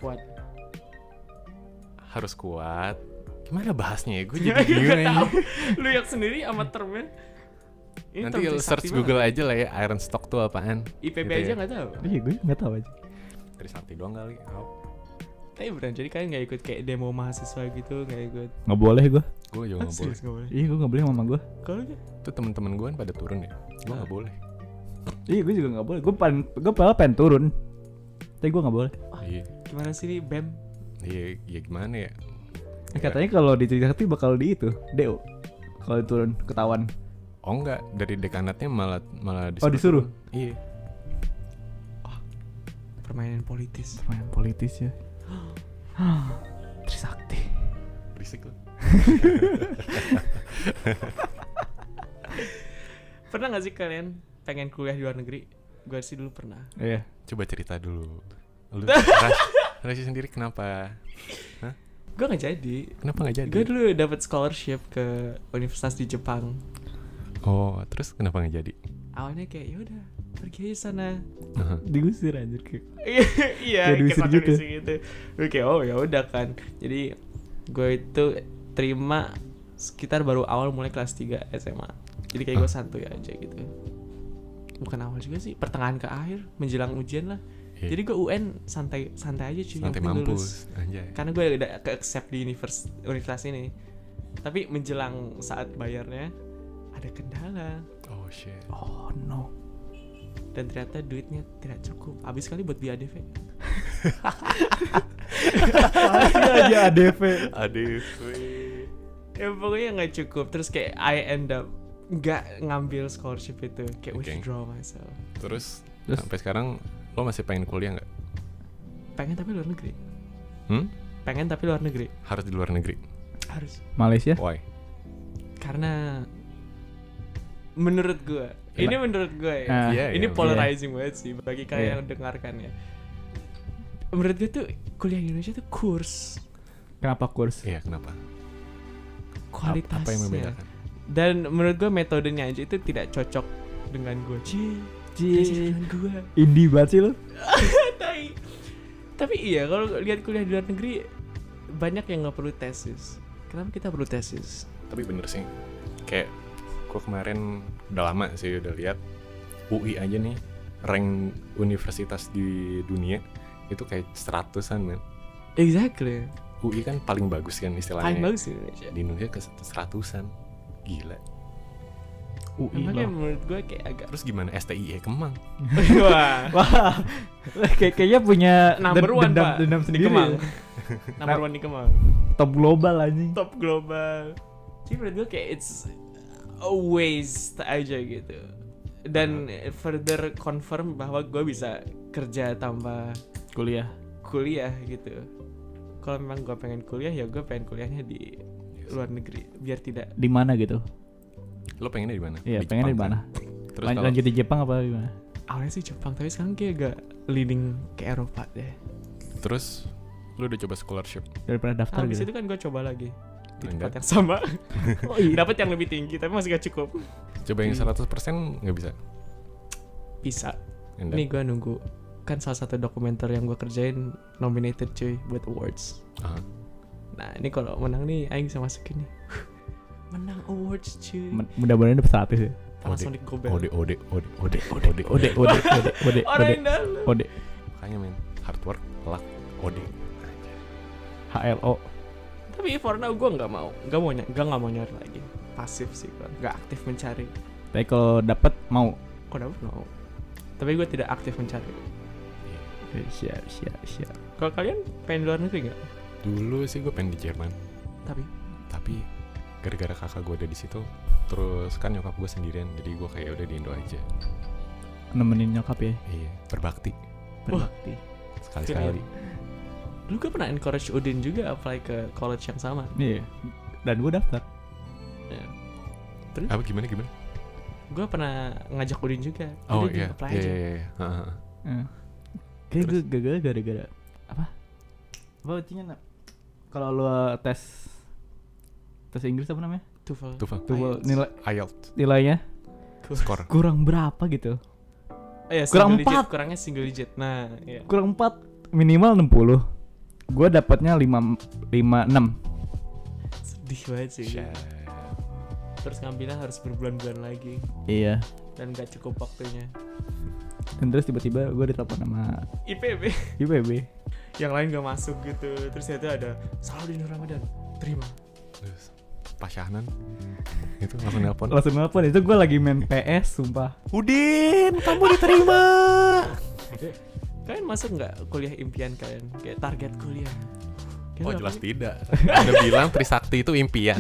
Speaker 1: harus kuat. Gimana bahasnya ya? Gue jadi bingung aja.
Speaker 3: Lu yang sendiri sama termnya. Ini
Speaker 1: Nanti
Speaker 3: term
Speaker 1: search
Speaker 3: Trisakti
Speaker 1: Google
Speaker 3: banget.
Speaker 1: aja lah ya, iron stock tuh apaan.
Speaker 3: IPB
Speaker 1: gitu
Speaker 3: aja
Speaker 1: ya.
Speaker 3: nggak tahu.
Speaker 2: Iya gue nggak tahu aja.
Speaker 1: Trisakti doang kali.
Speaker 3: Tapi beneran jadi kalian nggak ikut kayak demo mahasiswa gitu, nggak ikut?
Speaker 2: Nggak boleh gue.
Speaker 1: Gue juga nggak boleh.
Speaker 3: Serius nggak boleh.
Speaker 2: Iya gue nggak boleh sama mama gue.
Speaker 3: Kalau gitu?
Speaker 1: Tuh temen-temen gue kan pada turun ya. Gue nggak boleh.
Speaker 2: Iya gue juga nggak boleh. Gue pengen turun. Tapi gue nggak boleh.
Speaker 1: Iya.
Speaker 3: Gimana sih nih BEM?
Speaker 1: Iya gimana ya?
Speaker 2: Katanya kalau di Trisakti bakal di itu DO. Kalau turun ketahuan.
Speaker 1: Oh enggak, dari dekanatnya malah
Speaker 2: disuruh?
Speaker 1: turun. Iya.
Speaker 3: Permainan politis.
Speaker 2: Main politis ya. Trisakti.
Speaker 1: Berisik loh.
Speaker 3: Pernah nggak sih kalian pengen kuliah di luar negeri? Gue sih dulu pernah.
Speaker 2: Iya.
Speaker 1: Coba cerita dulu. Lu Rashi sendiri kenapa? Hah?
Speaker 3: Gue nggak jadi.
Speaker 1: Kenapa nggak jadi?
Speaker 3: Gue dulu dapat scholarship ke universitas di Jepang.
Speaker 1: Oh, terus kenapa nggak jadi?
Speaker 3: Awalnya kayak ya udah pergi aja sana.
Speaker 2: Diusir anjir kayak.
Speaker 3: Iya,
Speaker 2: Kayak diusir
Speaker 3: kayak
Speaker 2: gitu.
Speaker 3: kondisi gitu. Gue kayak oh ya udah kan. Jadi gue itu terima sekitar baru awal mulai kelas 3 SMA. Jadi kayak gue santuy aja gitu. Bukan awal juga sih, pertengahan ke akhir menjelang ujian lah.
Speaker 1: Iya.
Speaker 3: Jadi gue UN santai aja cuy.
Speaker 1: Santai
Speaker 3: yang penting lulus.
Speaker 1: mampus anjay.
Speaker 3: Karena gue udah ke-accept di universitas ini. Tapi menjelang saat bayarnya ada kendala.
Speaker 1: Oh shit.
Speaker 2: Oh no.
Speaker 3: Dan ternyata duitnya tidak cukup. Habis kali buat biaya ADV.
Speaker 2: Masih aja ADV.
Speaker 1: ADV.
Speaker 3: Ya pokoknya gak cukup. Terus kayak I end up gak ngambil scholarship itu. Kayak
Speaker 1: Okay.
Speaker 3: withdraw myself.
Speaker 1: Terus
Speaker 2: Terus?
Speaker 1: sampai sekarang lo masih pengen kuliah nggak?
Speaker 3: Pengen tapi luar negeri. Pengen tapi luar negeri.
Speaker 1: Harus di luar negeri.
Speaker 3: Harus.
Speaker 2: Malaysia?
Speaker 1: Why?
Speaker 3: Karena menurut gue, ini menurut gue ya,
Speaker 1: Iya,
Speaker 3: ini
Speaker 1: iya.
Speaker 3: polarizing banget sih bagi kalian
Speaker 2: Iya.
Speaker 3: yang dengarkan ya. Menurut gue tuh kuliah di Indonesia tuh kurs
Speaker 2: Kenapa kurs?
Speaker 1: Iya, kenapa?
Speaker 3: kualitasnya.
Speaker 1: Apa yang membedakan?
Speaker 3: Dan menurut gue metodenya aja itu tidak cocok dengan gue. Dengan gue.
Speaker 2: Indie banget sih lo.
Speaker 3: Tapi iya kalau lihat kuliah di luar negeri banyak yang nggak perlu tesis. Kenapa kita perlu tesis?
Speaker 1: Tapi bener sih. Kayak gue kemarin udah lama sih udah lihat UI aja nih rank universitas di dunia itu kayak 100-an men.
Speaker 3: Exactly.
Speaker 1: UI kan paling bagus kan istilahnya.
Speaker 3: Paling bagus di Indonesia.
Speaker 1: Di Indonesia ke 100-an. Gila.
Speaker 2: UI
Speaker 3: Makanya
Speaker 2: loh.
Speaker 3: menurut gue kayak agak
Speaker 1: Terus gimana STIE Kemang?
Speaker 3: wah
Speaker 2: Wah, kayaknya punya
Speaker 3: number one pak
Speaker 2: dendam
Speaker 3: di
Speaker 2: sendiri.
Speaker 3: Kemang.
Speaker 2: Ya.
Speaker 3: Number one di Kemang.
Speaker 2: Top global anjing.
Speaker 3: Top global. Jadi menurut gue kayak it's a waste aja gitu. Dan further confirm bahwa gue bisa kerja tambah kuliah gitu. Kalau memang gue pengen kuliah ya gue pengen kuliahnya di luar negeri biar tidak.
Speaker 2: Di mana gitu?
Speaker 1: Lo pengennya di mana?
Speaker 2: Iya,
Speaker 1: Di
Speaker 2: pengennya di
Speaker 1: Jepang,
Speaker 2: mana?
Speaker 1: kan? Terus kalau
Speaker 2: Lanjut di Jepang apa gimana?
Speaker 3: Awalnya sih Jepang tapi sekarang kayak agak leading ke Eropa deh.
Speaker 1: terus lo udah coba scholarship?
Speaker 2: Daripada daftar
Speaker 3: Habis
Speaker 2: gitu.
Speaker 3: itu kan gue coba lagi di tempat
Speaker 1: Enggak.
Speaker 3: yang sama.
Speaker 2: Oh iya.
Speaker 3: Dapat yang lebih tinggi tapi masih gak cukup.
Speaker 1: Coba yang 100% nggak bisa.
Speaker 3: Bisa.
Speaker 1: Enggak.
Speaker 3: Ini gue nunggu. Kan salah satu dokumenter yang gue kerjain nominated cuy buat awards.
Speaker 1: Aha.
Speaker 3: Nah ini kalau menang nih Aing bisa masukin nih. Menang awards cuy.
Speaker 2: Mudah-mudahan dapat 100 ya.
Speaker 3: Panasonic Gobel.
Speaker 1: Ode.
Speaker 3: Orang yang dalam.
Speaker 2: Ode.
Speaker 1: Makanya men, hard work, luck, ode.
Speaker 2: HLO.
Speaker 3: Tapi for now gue nggak mau nyari lagi. Pasif sih kan. Nggak aktif mencari.
Speaker 2: Tapi kalau dapat mau.
Speaker 3: Kok dapet mau. Tapi gue tidak aktif mencari.
Speaker 2: Siap.
Speaker 3: Kalau kalian pengen luar negeri nggak?
Speaker 1: Dulu sih gue pengen di Jerman, tapi gara-gara kakak gue ada di situ, terus kan nyokap gue sendirian, jadi gue kayak udah di Indo aja.
Speaker 2: Nemenin nyokap ya.
Speaker 1: Iya, berbakti
Speaker 2: Berbakti.
Speaker 1: sekali-sekali.
Speaker 3: Dulu gue pernah encourage Udin juga apply ke college yang sama.
Speaker 2: Iya. Dan gue daftar.
Speaker 3: Ya. Terus?
Speaker 1: Apa gimana?
Speaker 3: Gue pernah ngajak Udin juga.
Speaker 1: Oh
Speaker 3: Udin
Speaker 1: iya,
Speaker 3: apply aja.
Speaker 1: iya.
Speaker 2: Kayak gue gagal gara-gara apa artinya kalau lu tes Inggris apa namanya?
Speaker 3: TOEFL.
Speaker 1: TOEFL. IELTS.
Speaker 2: Nilainya
Speaker 1: Skor.
Speaker 2: kurang berapa gitu?
Speaker 3: Iya,
Speaker 2: Kurang
Speaker 3: single digit,
Speaker 2: 4.
Speaker 3: kurangnya single digit. Nah, iya.
Speaker 2: Kurang 4, minimal 60. Gue dapatnya 56.
Speaker 3: Sedih banget sih. Terus ngambilnya harus berbulan-bulan lagi
Speaker 2: Iya.
Speaker 3: dan gak cukup waktunya.
Speaker 2: Dan terus tiba-tiba gue ditelepon sama
Speaker 3: IPB
Speaker 2: IPB.
Speaker 3: yang lain gak masuk gitu. Terus itu ada Salahuddin Ramadan, terima.
Speaker 1: Terus Pak Syahnan itu langsung nelpon.
Speaker 2: Langsung nelpon, itu gue lagi main PS sumpah.
Speaker 1: Udin, kamu diterima.
Speaker 3: Kalian masuk nggak kuliah impian kalian? Kayak target kuliah? Kalian
Speaker 1: Oh
Speaker 3: apa
Speaker 1: jelas
Speaker 3: nih?
Speaker 1: tidak. Anda bilang Trisakti itu impian.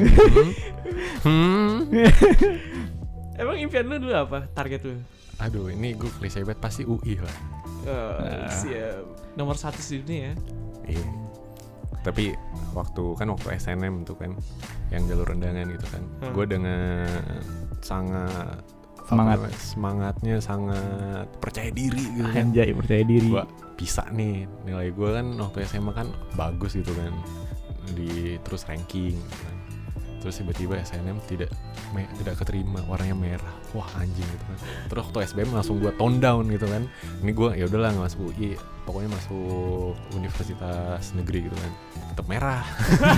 Speaker 3: Emang impian lu dulu apa? Target lu?
Speaker 1: Aduh, ini gue klise banget, pasti UI lah.
Speaker 3: Siap. Nomor 1 di dunia ya.
Speaker 1: Iya. Tapi waktu SNM tuh kan yang jalur undangan gitu kan. Gue dengan sangat semangatnya sangat percaya diri gitu kan.
Speaker 2: Anjay, percaya diri.
Speaker 1: Gue bisa nih, nilai gue kan waktu SMA kan bagus gitu kan. Terus ranking gitu kan. Terus tiba-tiba SNM tidak keterima, warnanya merah. Wah anjing gitu kan. Terus waktu SBM langsung gue tone down gitu kan. Ini gue ya udahlah nggak masuk UI, pokoknya masuk universitas negeri gitu kan. Tetap merah.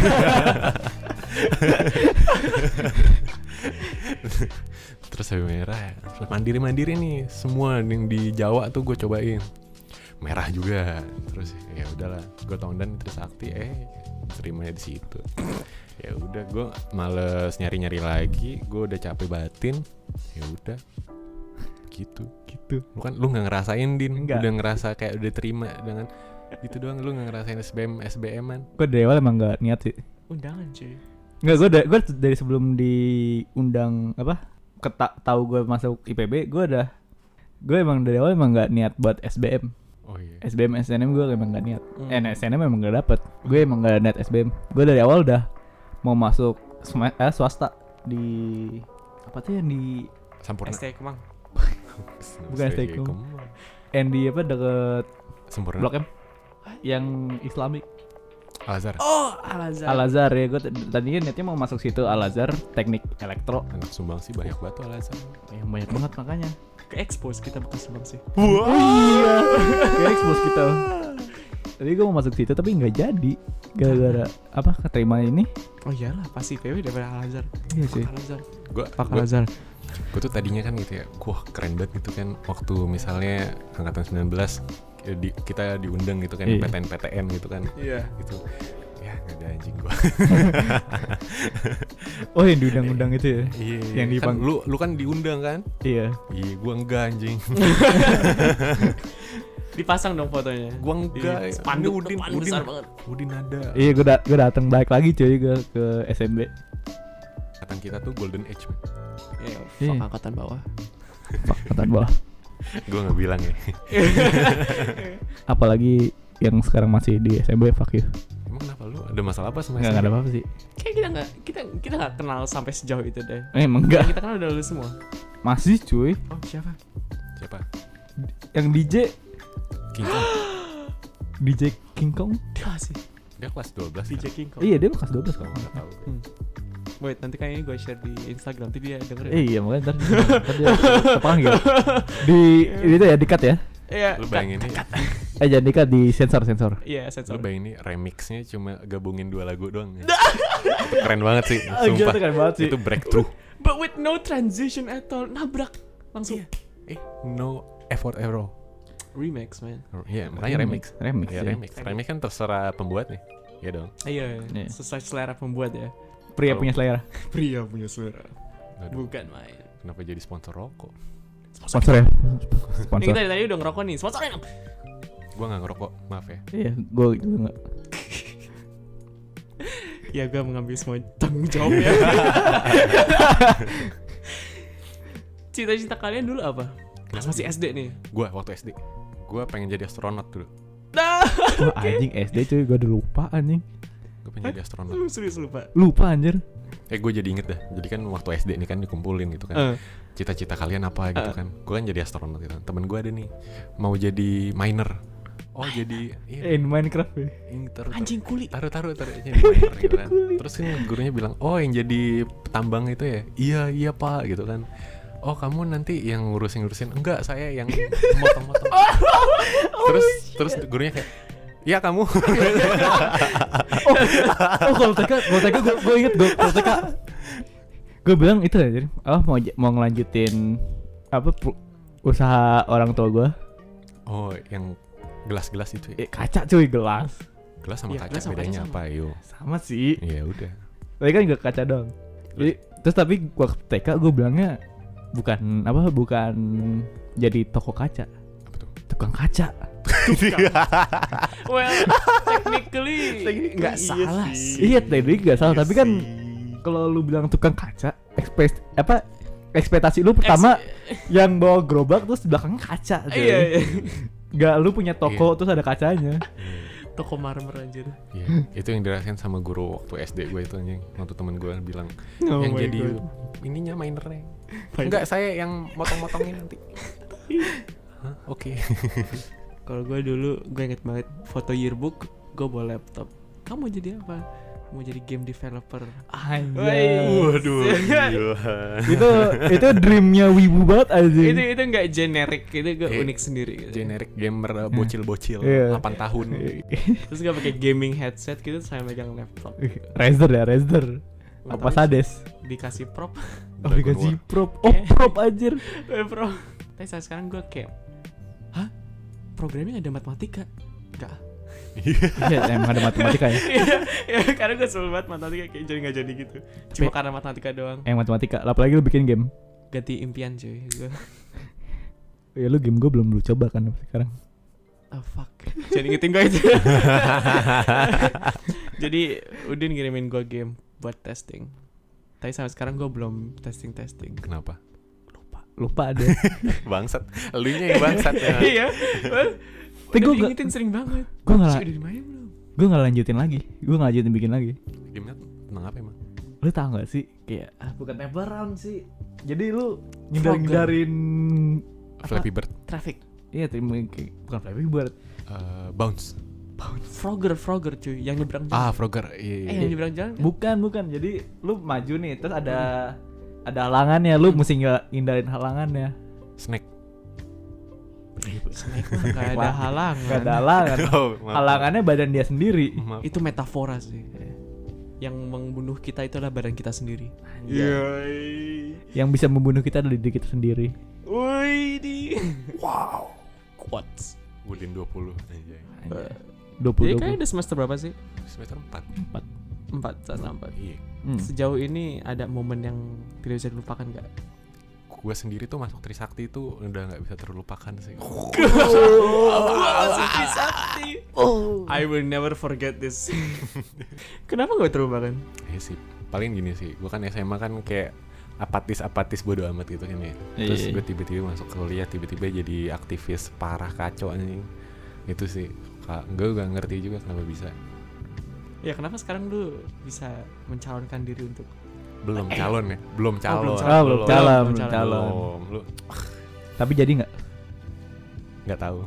Speaker 1: Terus habis merah ya. Terus mandiri nih, semua yang di Jawa tuh gue cobain. Merah juga. Terus ya udahlah, gue tone down terus akti terimanya di situ. Ya udah, gue males nyari lagi, gue udah capek batin. Ya udah gitu lu nggak ngerasain Din.
Speaker 2: Enggak.
Speaker 1: Udah ngerasa kayak udah terima dengan itu doang, lu nggak ngerasain SBM-an.
Speaker 2: Gue dari awal emang nggak niat sih.
Speaker 3: Undangan cuy.
Speaker 2: Nggak, gue dari sebelum diundang tahu gue masuk IPB, gue emang dari awal emang nggak niat buat SBM.
Speaker 1: Oh iya.
Speaker 2: SBM SNM gue emang gak niat. SNM emang gak dapet. Gue emang gak niat SBM. Gue dari awal udah mau masuk swasta di apa tuh yang di
Speaker 1: Sampurna.
Speaker 3: ST Kemang.
Speaker 2: Bukan ST Kemang. Yang di apa deket
Speaker 1: Sampurna.
Speaker 2: Blok M yang Islamik.
Speaker 1: Al-Azhar.
Speaker 3: Oh, Al-Azhar.
Speaker 2: Al-Azhar ya, gue tadinya niatnya mau masuk situ, Al-Azhar Teknik Elektro.
Speaker 1: Anak Sumbang sih banyak banget tuh Al-Azhar.
Speaker 2: Yang banyak banget makanya.
Speaker 3: Ke expose kita bekas Sumbang sih.
Speaker 2: Oh iya. Ya expose kita. Tadi gue mau masuk situ tapi nggak jadi gara-gara apa keterima ini.
Speaker 3: Oh iyalah, pasti PW daripada Al-Azhar.
Speaker 2: Iya sih.
Speaker 3: Al-Azhar.
Speaker 1: Gue
Speaker 3: Al-Azhar.
Speaker 1: tuh tadinya kan gitu ya, wah keren banget gitu kan. Waktu misalnya angkatan 19 kita diundang gitu kan,
Speaker 2: Iya.
Speaker 1: PTN gitu kan.
Speaker 3: Iya.
Speaker 1: Gitu. Ya nggak ada anjing gue.
Speaker 2: Oh yang diundang-undang itu ya?
Speaker 1: Iya.
Speaker 2: Yang
Speaker 1: Kan
Speaker 2: dipang-
Speaker 1: lu kan diundang kan?
Speaker 2: Iya.
Speaker 1: Iya, gue enggak anjing.
Speaker 3: Dipasang dong fotonya.
Speaker 1: Gue enggak.
Speaker 3: Di spanduk
Speaker 1: Ini
Speaker 3: depan besar banget.
Speaker 1: Udin ada.
Speaker 2: Iya gue datang balik lagi cuy ke SMB.
Speaker 1: Angkatan kita tuh golden age.
Speaker 3: Iya,
Speaker 2: Iya.
Speaker 3: fuck angkatan bawah.
Speaker 2: Angkatan bawah.
Speaker 1: Gue nggak bilang ya.
Speaker 2: Apalagi yang sekarang masih di SMB, fuck you.
Speaker 1: Emang kenapa lu ada masalah apa sama
Speaker 2: Nggak ada apa-apa sih.
Speaker 3: Kayak kita nggak kenal sampai sejauh itu deh.
Speaker 2: Emang
Speaker 3: Yang
Speaker 2: enggak.
Speaker 3: kita kenal udah lu semua.
Speaker 2: Masih cuy.
Speaker 3: Oh siapa?
Speaker 1: Siapa?
Speaker 2: Yang
Speaker 1: King Kong.
Speaker 2: DJ King Kong.
Speaker 3: Dia sih.
Speaker 1: Dia kelas 12
Speaker 3: DJ
Speaker 1: kan?
Speaker 3: King Kong.
Speaker 2: Iya dia kelas 12 kalau
Speaker 1: Nggak tahu.
Speaker 3: Wait, nanti kayaknya gue share di Instagram, nanti dia dengerin.
Speaker 2: Iya makanya ntar dia kepanggil di itu ya di-cut ya.
Speaker 3: Iya.
Speaker 1: Lu bayangin nih,
Speaker 2: Jangan di-cut, di sensor.
Speaker 3: Iya,
Speaker 1: lu
Speaker 3: sensor.
Speaker 1: bayangin nih remixnya cuma gabungin 2 lagu doang ya. Itu keren banget sih, sumpah.
Speaker 2: Itu keren banget sih.
Speaker 1: Itu breakthrough.
Speaker 3: But with no transition at all, nabrak langsung.
Speaker 1: No effort error.
Speaker 3: Remix, man.
Speaker 1: Iya, makanya remix.
Speaker 2: Remix.
Speaker 1: Ya
Speaker 2: Ya.
Speaker 1: remix kan terserah pembuatnya. Iya dong.
Speaker 3: Iya,
Speaker 2: Iya.
Speaker 3: sesuai selera pembuat ya.
Speaker 2: Pria
Speaker 1: Kalau-
Speaker 2: punya selera.
Speaker 3: Pria punya selera.
Speaker 1: Aduh,
Speaker 3: Bukan main.
Speaker 1: kenapa jadi sponsor rokok?
Speaker 2: Sponsor ya.
Speaker 3: Ini
Speaker 2: Sponsor.
Speaker 3: kita dari tadi udah ngerokok nih, sponsorin dong.
Speaker 1: Gua nggak ngerokok, maaf ya.
Speaker 2: Iya, gue juga enggak.
Speaker 3: Ya gue mengambil semua tanggung jawab ya. Cita-cita kalian dulu apa? Pas masih SD nih.
Speaker 1: Gua waktu SD, gua pengen jadi astronot dulu.
Speaker 3: Nah,
Speaker 2: Wah, anjing SD cuy, gue udah lupa anjing.
Speaker 1: Gue pengen jadi astronot.
Speaker 3: lu serius lupa.
Speaker 2: Lupa anjir.
Speaker 1: Gue jadi inget dah. Jadi kan waktu SD ini kan dikumpulin gitu kan. Cita-cita kalian apa gitu kan. Gue kan jadi astronot gitu. Temen gue ada nih mau jadi miner. Oh jadi
Speaker 2: In Minecraft ya.
Speaker 1: ini
Speaker 3: Anjing kuli.
Speaker 1: taruh jadi miner gitu kan. Terus kan gurunya bilang, oh yang jadi tambang itu ya. Iya pak gitu kan. Oh kamu nanti yang ngurusin enggak, saya yang motong-motong. terus gurunya kayak, iya kamu.
Speaker 2: Oh kalau TK gue inget kalau TK gue bilang itu ya, jadi mau ngelanjutin apa usaha orang tua gue.
Speaker 1: Oh yang gelas-gelas itu ya.
Speaker 2: Kaca cuy, gelas.
Speaker 1: Gelas sama
Speaker 3: Iya,
Speaker 1: kaca
Speaker 3: gelas sama
Speaker 1: bedanya
Speaker 3: kaca
Speaker 1: apa yo?
Speaker 2: Sama sih.
Speaker 1: Ya udah.
Speaker 2: Tapi kan gak kaca dong. Jadi terus tapi waktu TK gue bilangnya bukan jadi toko kaca.
Speaker 1: Apa tuh?
Speaker 2: Tukang kaca.
Speaker 3: Well, technically nggak salah sih.
Speaker 2: Iya tadi gak salah, tapi kan kalau lu bilang tukang kaca, ekspektasi lu pertama yang bawa gerobak terus di belakangnya kaca. Cuy.
Speaker 3: Iya.
Speaker 2: Gak lu punya toko terus ada kacanya.
Speaker 3: Toko marmer anjir.
Speaker 1: Iya, itu yang dirasain sama guru waktu SD gue itu anjing. Waktu temen gue bilang
Speaker 3: Oh
Speaker 1: yang
Speaker 3: my
Speaker 1: jadi
Speaker 3: God.
Speaker 1: ininya minernya. Enggak, saya yang motong-motongin nanti. Hah? Oke.
Speaker 3: Kalau gue dulu, gue inget banget foto yearbook, gue bawa laptop. Kamu jadi apa? mau jadi game developer.
Speaker 2: Anjay.
Speaker 1: Waduh, gila.
Speaker 2: itu dreamnya wibu banget aja.
Speaker 3: Itu nggak generik, itu gue unik sendiri. Gitu.
Speaker 1: Generic gamer bocil-bocil,
Speaker 2: Iya.
Speaker 1: 8 tahun.
Speaker 3: Terus gue pakai gaming headset gitu, saya megang laptop.
Speaker 2: Razer ya, Razer.
Speaker 3: Nggak
Speaker 2: Apa
Speaker 3: tahu,
Speaker 2: Sades?
Speaker 3: dikasih prop.
Speaker 2: Oh, dikasih prop. Oh,
Speaker 3: Kayak-
Speaker 2: prop anjir.
Speaker 3: Prop. Tapi saat sekarang gue kayak, hah? Programming ada matematika? Enggak.
Speaker 2: Iya, emang ada matematika ya.
Speaker 3: Ya, karena gue sebel banget matematika, kayak jadi nggak jadi gitu. Cuma karena matematika doang.
Speaker 2: Yang matematika, apalagi lu bikin game.
Speaker 3: Ganti impian cuy. Gua,
Speaker 2: Ya lu game gue belum lu coba kan sampai sekarang.
Speaker 3: oh fuck. Jadi ingetin gue itu. Jadi Udin ngirimin gue game buat testing. Tapi sampai sekarang gue belum testing.
Speaker 1: Kenapa?
Speaker 2: Lupa ada.
Speaker 1: Bangsat. Elunya yang bangsat ya.
Speaker 3: Iya.
Speaker 2: Tapi
Speaker 3: Udah
Speaker 2: gua
Speaker 3: diingetin sering banget.
Speaker 2: Gue
Speaker 3: Si
Speaker 2: nggak
Speaker 3: udah dimainin belum?
Speaker 2: gue nggak lanjutin lagi. Gue nggak lanjutin bikin lagi.
Speaker 1: Gamenya tentang apa emang?
Speaker 2: Lu tau gak sih kayak bukan temple run sih. Jadi lu ngindarin
Speaker 1: Flappy Bird.
Speaker 3: Traffic.
Speaker 2: Iya, bukan Flappy Bird.
Speaker 1: Bounce.
Speaker 3: Frogger cuy, yang nyebrang jalan.
Speaker 1: Frogger. Iya.
Speaker 3: Yang nyebrang jalan kan?
Speaker 2: Bukan. Jadi lu maju nih, terus ada halangannya, lu mesti ngindarin halangannya.
Speaker 1: Snake.
Speaker 3: Snake mah gak ada halangan.
Speaker 2: Gak ada halangan.
Speaker 1: Oh, maaf.
Speaker 2: Halangannya badan dia sendiri.
Speaker 1: Maaf.
Speaker 3: Itu metafora sih. Yang membunuh kita itulah badan kita sendiri.
Speaker 2: Yang bisa membunuh kita adalah diri kita sendiri.
Speaker 3: Wih di. Wow. Quotes.
Speaker 1: Udin 20 anjay.
Speaker 2: 20.
Speaker 3: Jadi kayaknya udah semester berapa sih?
Speaker 1: Semester 4.
Speaker 3: 4
Speaker 1: Iya.
Speaker 3: Sejauh ini ada momen yang tidak bisa dilupakan gak?
Speaker 1: Gue sendiri tuh masuk Trisakti itu udah nggak bisa terlupakan sih.
Speaker 3: I will never forget this. Kenapa gak terlupakan?
Speaker 1: Iya sih. Paling gini sih. Gue kan SMA kan kayak apatis bodo amat gitu kan ya. Terus gue tiba-tiba masuk kuliah, tiba-tiba jadi aktivis parah kacau anjing. Itu sih. Gue gak ngerti juga kenapa bisa.
Speaker 3: Ya kenapa sekarang lu bisa mencalonkan diri untuk
Speaker 1: Belum calon ya. Belum calon.
Speaker 3: belum calon.
Speaker 2: Belum calon.
Speaker 1: Lu
Speaker 2: Tapi jadi nggak?
Speaker 1: nggak tahu.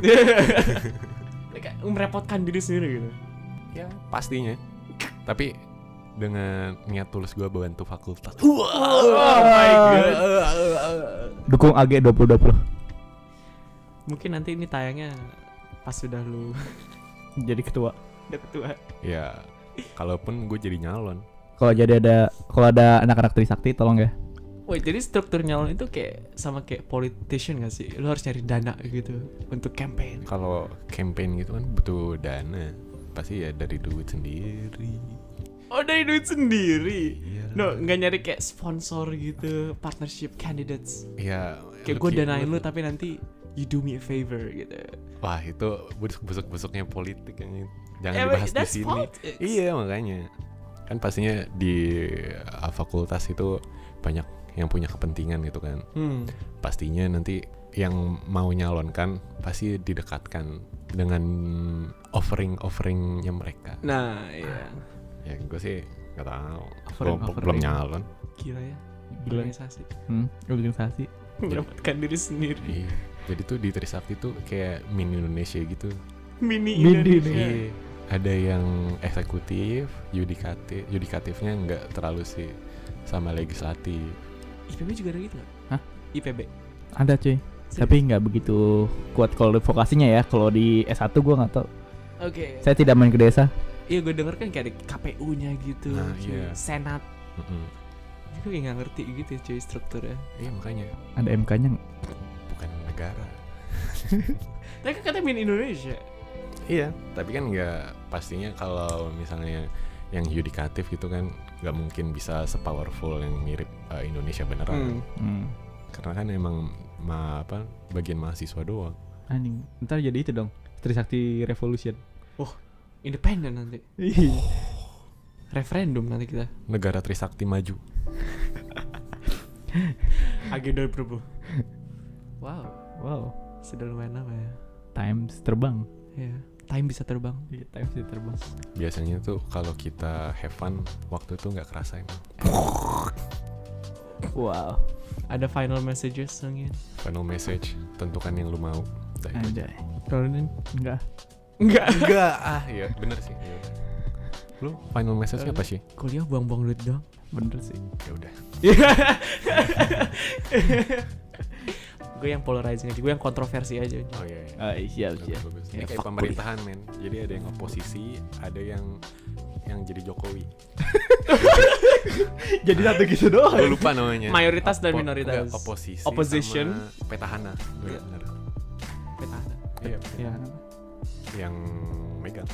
Speaker 3: kayak merepotkan diri sendiri gitu?
Speaker 1: Ya pastinya. Tapi dengan niat tulus gue bantu fakultas.
Speaker 3: Oh my god.
Speaker 2: Dukung AG 2020.
Speaker 3: Mungkin nanti ini tayangnya pas sudah lu
Speaker 2: Jadi ketua.
Speaker 3: udah ketua.
Speaker 1: Ya kalaupun gue jadi nyalon.
Speaker 2: Kalau ada anak-anak Trisakti tolong ya.
Speaker 3: Wait, jadi struktur nyalon itu kayak sama kayak politician gak sih? Lu harus cari dana gitu untuk campaign.
Speaker 1: Kalau campaign gitu kan butuh dana. Pasti ya dari duit sendiri.
Speaker 3: Oh, dari duit sendiri?
Speaker 1: Iya.
Speaker 3: No, gak nyari kayak sponsor gitu, partnership candidates.
Speaker 1: Iya.
Speaker 3: Kayak gue danain lu tapi nanti you do me a favor gitu.
Speaker 1: Wah itu busuk-busuknya politik kan. Jangan
Speaker 3: Yeah,
Speaker 1: dibahas
Speaker 3: but
Speaker 1: di
Speaker 3: that's
Speaker 1: sini.
Speaker 3: politics.
Speaker 1: Iya makanya. Kan pastinya di fakultas itu banyak yang punya kepentingan gitu kan. Pastinya nanti yang mau nyalonkan pasti didekatkan dengan offering-offeringnya mereka.
Speaker 3: Nah, iya.
Speaker 1: Ya gue sih nggak tahu.
Speaker 2: Offering.
Speaker 1: Belum nyalon.
Speaker 3: Gila ya.
Speaker 2: Gila.
Speaker 3: Organisasi.
Speaker 2: Organisasi.
Speaker 3: Merepotkan diri sendiri.
Speaker 1: Iya. Jadi tuh di Trisakti tuh kayak mini Indonesia gitu.
Speaker 3: Mini
Speaker 2: Mini
Speaker 3: Indonesia.
Speaker 1: Iya. Ada yang eksekutif, yudikatifnya nggak terlalu sih sama legislatif.
Speaker 3: IPB juga ada gitu gak?
Speaker 2: Hah?
Speaker 3: IPB?
Speaker 2: Ada cuy. Tapi nggak begitu kuat kalau vokasinya ya. Kalau di S1 gue nggak tahu.
Speaker 3: Oke.
Speaker 2: Saya tidak main ke desa.
Speaker 3: Iya, gue denger kan kayak ada KPU-nya gitu,
Speaker 1: Nah,
Speaker 3: cuy.
Speaker 1: iya.
Speaker 3: Senat. Gue kayak gak ngerti gitu ya cuy strukturnya.
Speaker 1: Iya makanya
Speaker 2: Ada MK-nya nggak?
Speaker 1: bukan negara.
Speaker 3: Tapi kan katanya mini Indonesia.
Speaker 1: Iya, tapi kan nggak pastinya kalau misalnya yang yudikatif gitu kan nggak mungkin bisa sepowerful yang mirip Indonesia beneran. Karena kan emang bagian mahasiswa doang.
Speaker 2: Anjing. Ntar jadi itu dong. Trisakti Revolution.
Speaker 3: Independen nanti. Referendum nanti kita.
Speaker 1: Negara Trisakti maju.
Speaker 3: Agenda Prabu. Wow,
Speaker 2: Wow.
Speaker 3: sudah lumayan lama ya.
Speaker 2: Times terbang.
Speaker 3: Iya. Time bisa terbang.
Speaker 2: Iya, times bisa terbang.
Speaker 1: Biasanya tuh kalau kita have fun waktu itu nggak kerasa emang.
Speaker 2: Wow.
Speaker 3: Ada final messages mungkin?
Speaker 1: Final message, tentukan yang lu mau. Udah itu aja.
Speaker 2: Anjay. Kalau ini enggak.
Speaker 3: Enggak.
Speaker 1: Enggak, ya bener sih. Ya. Lu final message-nya apa sih?
Speaker 3: Kuliah buang-buang duit doang.
Speaker 2: Bener sih.
Speaker 1: Ya udah.
Speaker 3: Gue yang polarizing aja, gue yang kontroversi aja.
Speaker 1: Oh iya.
Speaker 2: Siap.
Speaker 1: Bagus. Ini
Speaker 2: Ya,
Speaker 1: kayak
Speaker 2: fuck
Speaker 1: pemerintahan men. Jadi ada yang oposisi, ada yang jadi Jokowi.
Speaker 2: Jadi satu gitu doang.
Speaker 1: Gue lupa namanya.
Speaker 3: Mayoritas dan minoritas.
Speaker 1: Enggak, oposisi
Speaker 3: Opposition.
Speaker 1: sama petahana.
Speaker 3: Iya.
Speaker 1: Benar.
Speaker 3: Petahana.
Speaker 1: Iya.
Speaker 3: Ya.
Speaker 1: Yang megang.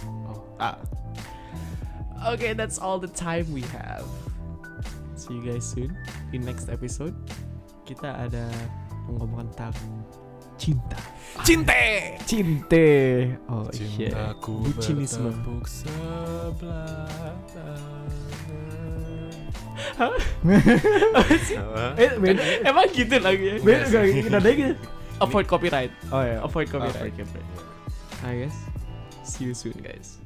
Speaker 3: Okay, that's all the time we have. See you guys soon in next episode. Kita ada ngomong tentang cinta.
Speaker 2: Cinte. Oh shit.
Speaker 1: Cintaku
Speaker 3: Bucinisme.
Speaker 1: bertepuk sebelah
Speaker 2: Beda.
Speaker 3: Emang gitu lagunya?
Speaker 2: Beda gak nadanya gitu.
Speaker 3: Avoid copyright.
Speaker 2: Oh ya.
Speaker 3: Avoid copyright. I guess. See you soon, guys.